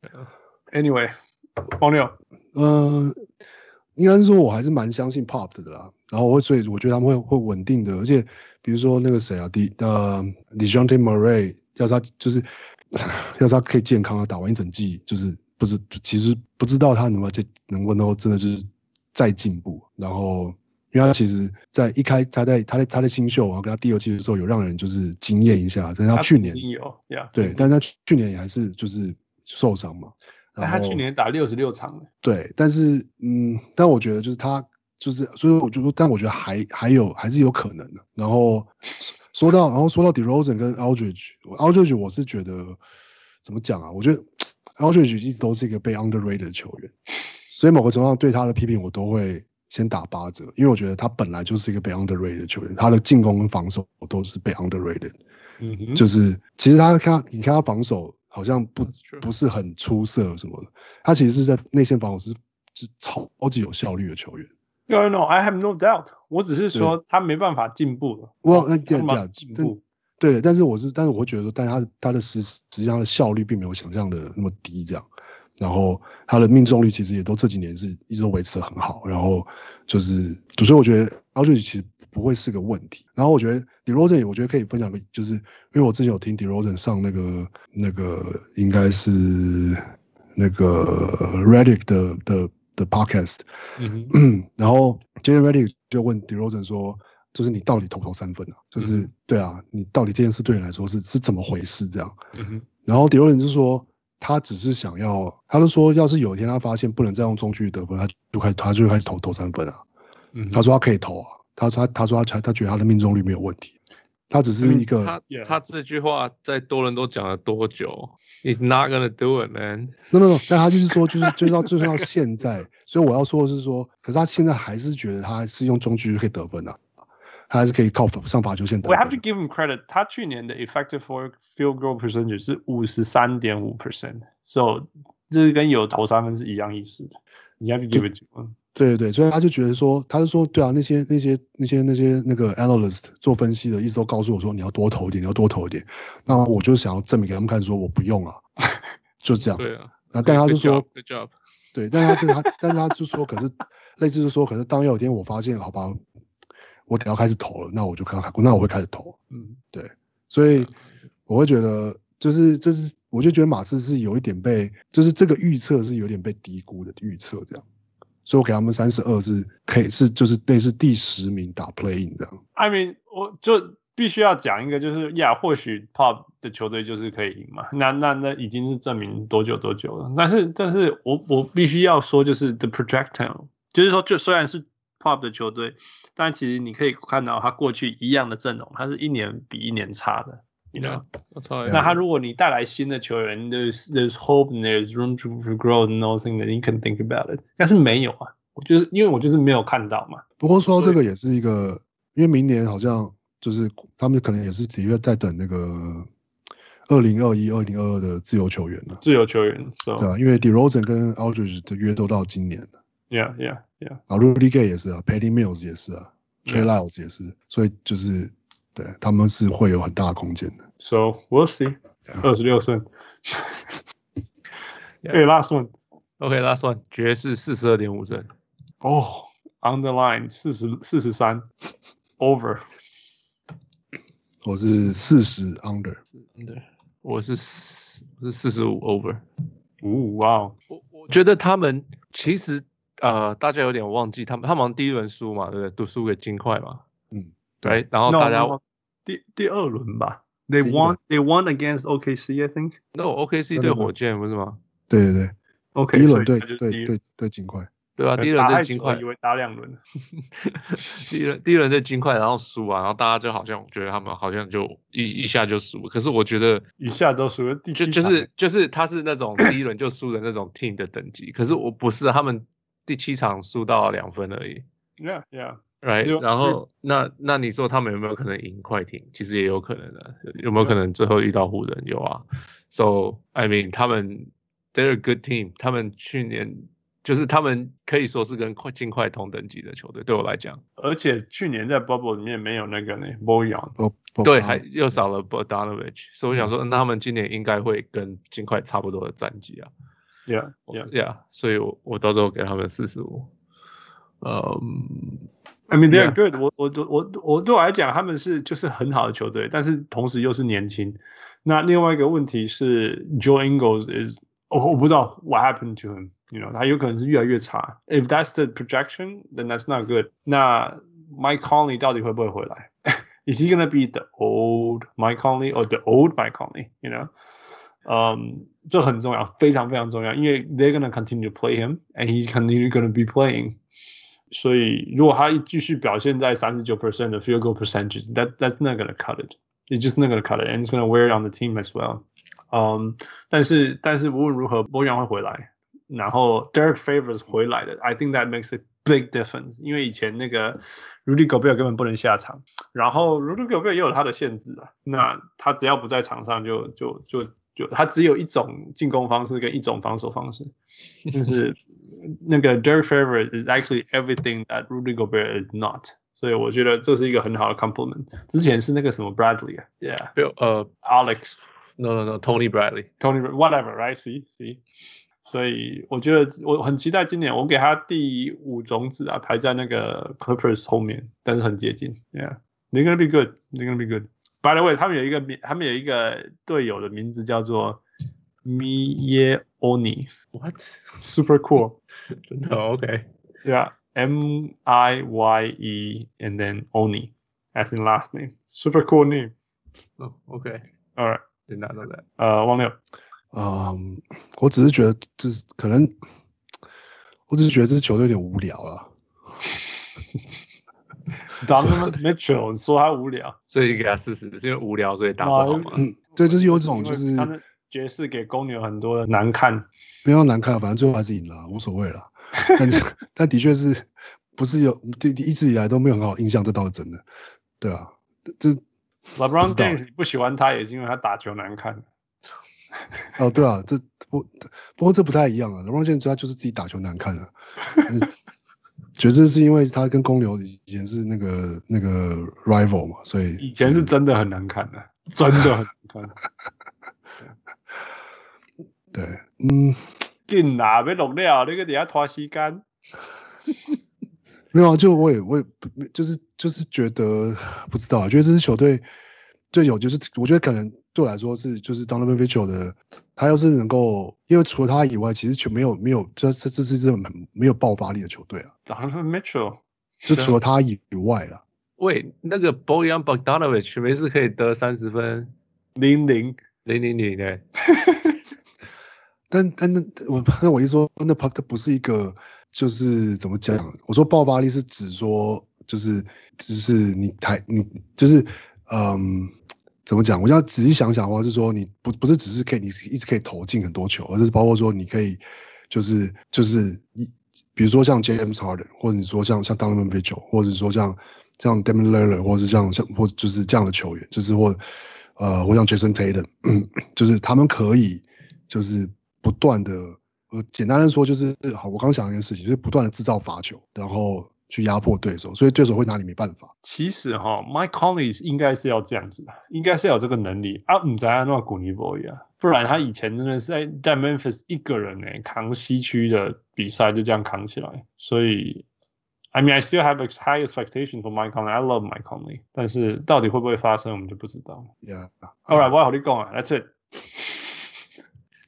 Anyway, 黄牛， 呃，应该是說我還是蠻相信 Pop 的啦。然後我會，所以我覺得他們會會穩定的，而且比如說那個誰啊，迪呃 DeJounte Murray， 要是他就是要是他可以健康的打完一整季，就是不是其實不知道他能不能能不能夠真的就是再進步。然後因為他其實在一開他在他在他在新秀，然後跟他第二季的時候有讓人就是驚豔一下，但是他去年有 yeah, 對，但是他去年也還是就是受傷嘛。 但他去年打六十六場了。 對，但是嗯，但我覺得就是他。就是，所以我就說，但我覺得還還有還是有可能的。然後說到，然後說到 DeRozan 跟 Aldridge，Aldridge 我是覺得怎麼講啊？我覺得 Aldridge 一直都是一個被 underrated 的球員，所以某個程度上對他的批評我都會先打八折，因為我覺得他本來就是一個被 underrated 的球員，他的進攻跟防守都是被 underrated。嗯哼，就是其實他看你看他防守好像不不是很出色什麼的，他其實是在內線防守是是超級有效率的球員。 No, no, I have no doubt. 我只是說他沒辦法進步了。 我那对对进步， 對，但是我是，但是我會覺得說，但是他他的實實際上的效率並沒有想象的那麼低，這樣。然後他的命中率其實也都這幾年是一直都維持得很好。然後就是，所以我覺得 Aldridge 其實不會是個問題。然後我覺得 DeRozan 也我覺得可以分享個，就是因為我之前有聽 DeRozan 上那個那個應該是那個 Redick 的的。的 podcast， 嗯哼，然後 J J Redick 就問 DeRozan 說，就是你到底投不投三分啊？就是、嗯、對啊，你到底這件事對你來說是是怎麼回事？這樣，嗯哼，然後 DeRozan 就說，他只是想要，他就說，要是有一天他發現不能再用中距離得分，他就開始他就開始投投三分啊。嗯，他說他可以投啊，他說他他說他他覺得他的命中率沒有問題。他只是一個， 他他這句話在多倫多講了多久 ？He's not gonna do it, man. No, no, no. 但他就是說，就是就是到就算到現在，所以我要說的是說，可是他現在還是覺得他是用中距離可以得分啊，他還是可以靠上罰球線得分。 We have to give him credit. 他去年的 effective field goal percentage 是五十三點五 percent，so 這是跟有投三分是一樣意思的。你 have to give it to him. 對對對，所以他就覺得說，他就說，對啊，那些那些那些那些那個 analyst 做分析的，一直都告訴我說，你要多投一點，你要多投一點。那我就想要證明給他們看，說我不用啊，就這樣。 對啊。 那但他就說 ，Good job。 對，但他就他，但是他就說，可是類似就說，可是當有一天我發現，好吧，我得要開始投了，那我就開始，那我會開始投。嗯，對，所以我會覺得，就是這是，我就覺得馬刺是有一點被，就是這個預測是有點被低估的預測，這樣。所以我給他們三十二是可以是就是類似第十名打 play-in 這樣。 I mean， 我就必須要講一個，就是呀，或許 Pop 的球隊就是可以贏嘛。那那那已經是證明多久多久了。但是但是我我必須要說，就是 the projectile， 就是說，就雖然是 Pop 的球隊，但其實你可以看到他過去一樣的陣容，他是一年比一年差的。You know? Yeah, 那他如果你帶來新的球員 ，there's there's hope and there's room to grow and nothing that you can think about it。但是沒有啊，我就是因為我就是沒有看到嘛。 不過說到這個也是一個，因為明年好像就是他們可能也是的確在等那個二零二一、二零二二的自由球員了。 自由球員， so, 對啊，因為 DeRozan 跟 Aldridge 的約都到今年了。 Yeah, yeah, yeah。 然後 Rudy Gay 也是啊 ，Patty Mills 也是啊 ，Trey Lyles 也是，所以就是對他們是會有很大的空間的。 So we'll see。二十六勝。Hey, last one. OK, last one. 爵士四十二點五勝。 哦 ，Underline 四十四十三 ，Over。 我是四十 under。 under。我是四我是四十五 over。 哦，哇！ 我我覺得他們其實呃，大家有點忘記他們，他們第一輪輸嘛，對不對？都輸給金塊嘛。嗯，對。然後大家。No, no, no. 第第二輪吧。They won. They won against O K C, I think. No, O K C 对火箭不是嗎？ 对对对 ，OK， 第一輪对对对对对金塊， 对啊，第一輪对金塊， 以為打兩輪。 第一輪第一輪對金塊，然後輸啊，然後大家就好像覺得他們好像就一一下就輸，可是我覺得一下都輸了，第七就就是就是他是那種第一輪就輸的那種 team 的等級，可是我不是，他們第七場輸到兩分而已。 Yeah, yeah. Right，然後那那你說他們有沒有可能贏快艇？其實也有可能的，有沒有可能最後遇到湖人？有啊。So I mean， 他們 they're a good team， 他們去年就是他們可以說是跟快金塊同等級的球隊，對我來講。 而且去年在 bubble 裡面沒有那個呢 Bojan， 對，還又少了 Bogdanovic， 所以我想說，那他們今年應該會跟金塊差不多的戰績啊。 Yeah, yeah, yeah。所以我我到時候給他們四十五。嗯。 I mean they're good. 我我我我對我來講，他們是就是很好的球隊，但是同時又是年輕。那另外一個問題是 ，Joe Ingles is，我、oh, 我不知道 what happened to him，you know， 他有可能是越來越差。If that's the projection, then that's not good. 那 Mike Conley 到底會不會回來？Is he gonna be the old Mike Conley or the old Mike Conley? You know， 嗯、um, ，這很重要，非常非常重要，因為 they're gonna continue to play him, and he's continue gonna be playing. 所以，如果他繼續表現在三十九 percent 的 field goal percentage, that that's not gonna cut it. It's just not gonna cut it, and it's gonna wear on the team as well. 嗯，但是但是無論如何，波揚會回來，然後 Derek Favors 回來的 ，I think that makes a big difference. 因為以前那個 Rudy Gobert 根本不能下場，然後 Rudy Gobert 也有他的限制啊。那他只要不在場上就，就就就就他只有一種進攻方式跟一種防守方式，就是那個 Derek Favors is actually everything that Rudy Gobert is not， 所以我覺得這是一個很好的 compliment。之前是那個什麼 Bradley 啊 ，Yeah， 呃、uh, Alex，No No No No，Tony Bradley，Tony whatever，right？ See see， 所以我覺得我很期待今年，我給他第五種子啊，排在那個 Clippers 後面，但是很接近 ，Yeah，they're gonna be good，they're gonna be good。By the way， 他們有一個名，他們有一個隊友的名字叫做 Miye Oni。What？ Super cool 。 真的 OK。Yeah，M I Y E and then Oni as in last name. Super cool name. Oh, OK. All right. Did not know that. 呃，王六。 嗯，我只是覺得就是可能，我只是覺得這支球隊有點無聊啊。 Donovan Mitchell 說他無聊， 所以給他四十，是因為無聊所以打不好嗎？ 嗯，對，就是有一種就是他的爵士給公牛很多的難看， 沒有難看，反正最後還是贏了，無所謂了。但但的確是不是有一直以來都沒有很好的印象，這倒是真的。對啊，這 LeBron James 你不喜歡他也是因為他打球難看。 哦，對啊，這不不過這不太一樣啊。LeBron James 他就是自己打球難看啊。覺得是因為他跟公牛以前是那個那個 rival 嘛，所以以前是真的很難看的，真的很難看。 對，嗯， 緊啦，要錄了，你個底下拖時間。 沒有啊，就我也我也就是就是覺得不知道啊，覺得這支球隊最有就是我覺得可能對我來說是就是 Donovan Mitchell 的。他要是能夠，因為除了他以外，其實就沒有沒有，這這這是這種沒有爆發力的球隊啊。 Donovan Mitchell 就除了他以外啦。 喂，那個 Bojan Bogdanovic 每次可以得三十分， 零零零零零的。 但但那我那我一說，那他不是一個，就是怎麼講？我說爆發力是指說，就是就是你台你就是嗯。怎麼講？我要仔細想想的話，是說你不不是只是可以你一直可以投進很多球，而是包括說你可以就是就是一，比如說像 James Harden， 或者你說像像 Donovan Mitchell， 或者說像像 Damian Lillard， 或者是像像或就是這樣的球員，就是或呃或像 Jason Tatum， 就是他們可以就是不斷的，呃簡單的說就是好，我剛想一件事情，就是不斷的製造罰球，然後去壓迫對手，所以對手會拿你沒辦法。 其實哈 ，Mike Conley 應該是要這樣子的，應該是要有這個能力啊，不知道那古尼波一樣，不然他以前真的是在在 Memphis 一個人呢扛西區的比賽就這樣扛起來，所以 I mean I still have a high expectation for Mike Conley. I love Mike Conley， 但是到底會不會發生，我們就不知道。 Yeah. All right， 我要和你講啊 ，That's it。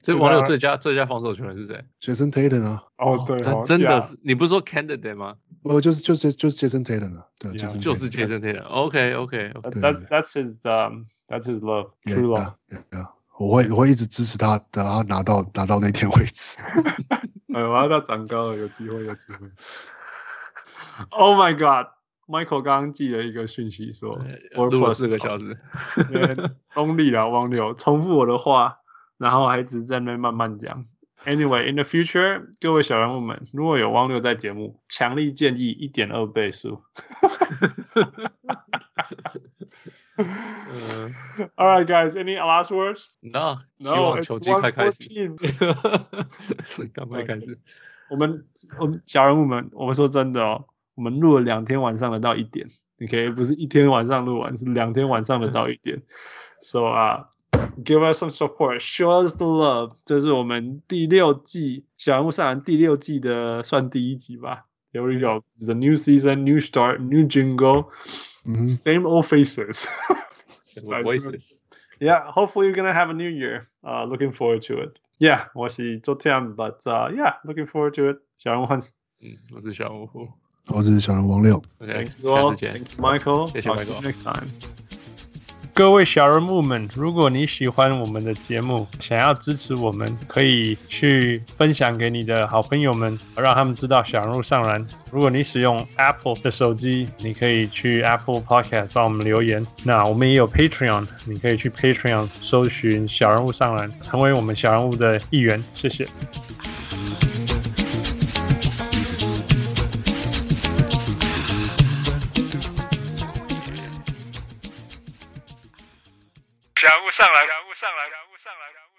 所以王六最佳最佳防守球员是誰 ？Jason Tatum 啊。 哦，对， 真真的是，你不是说 candidate 嗎？ 我就是就是就是 Jason Tatum 啊，对， 就是 Jason Tatum。OK OK， That's that's his um that's his love, true love. Yeah，我会我会一直支持他，等他拿到拿到那天为止。 哎，我要他長高了，有機會，有機會。Oh my God！Michael 剛剛寄了一個訊息說，我錄了四個小時， 功力啦，王六重複我的話，然後還一直在那邊慢慢講。Anyway, in the future， 各位小人物們，如果有汪六在節目，強力建議一點二倍速。uh, All right, guys, any last words? No, no, it's one fourteen. 趕快開始。 我們我們小人物們，我們說真的哦，我們錄了兩天晚上的到一點 ，OK， 不是一天晚上錄完，是兩天晚上的到一點。So 啊、uh,，give us some support, show us the love。這是我們第六季小人物上籃第六季的算第一集吧。Here we go. It's a new season, new start, new jingle, mm-hmm. Same old faces. Voices. Yeah, hopefully you're gonna have a new year. Uh, looking forward to it. Yeah, 我是周天 but uh, yeah, looking forward to it. 小人物 Hans， 嗯，我是小人物， 我是小人物王六。 Okay, Thank you all. Thank you, Michael. 謝謝 Michael. Next time. 各位小人物們，如果你喜歡我們的節目，想要支持我們，可以去分享給你的好朋友們，讓他們知道小人物上籃。如果你使用 Apple 的手機，你可以去 Apple Podcast 幫我們留言。那我們也有 Patreon， 你可以去 Patreon 搜尋小人物上籃，成為我們小人物的一員。謝謝。小人物上來，小人物上來，小人物上來。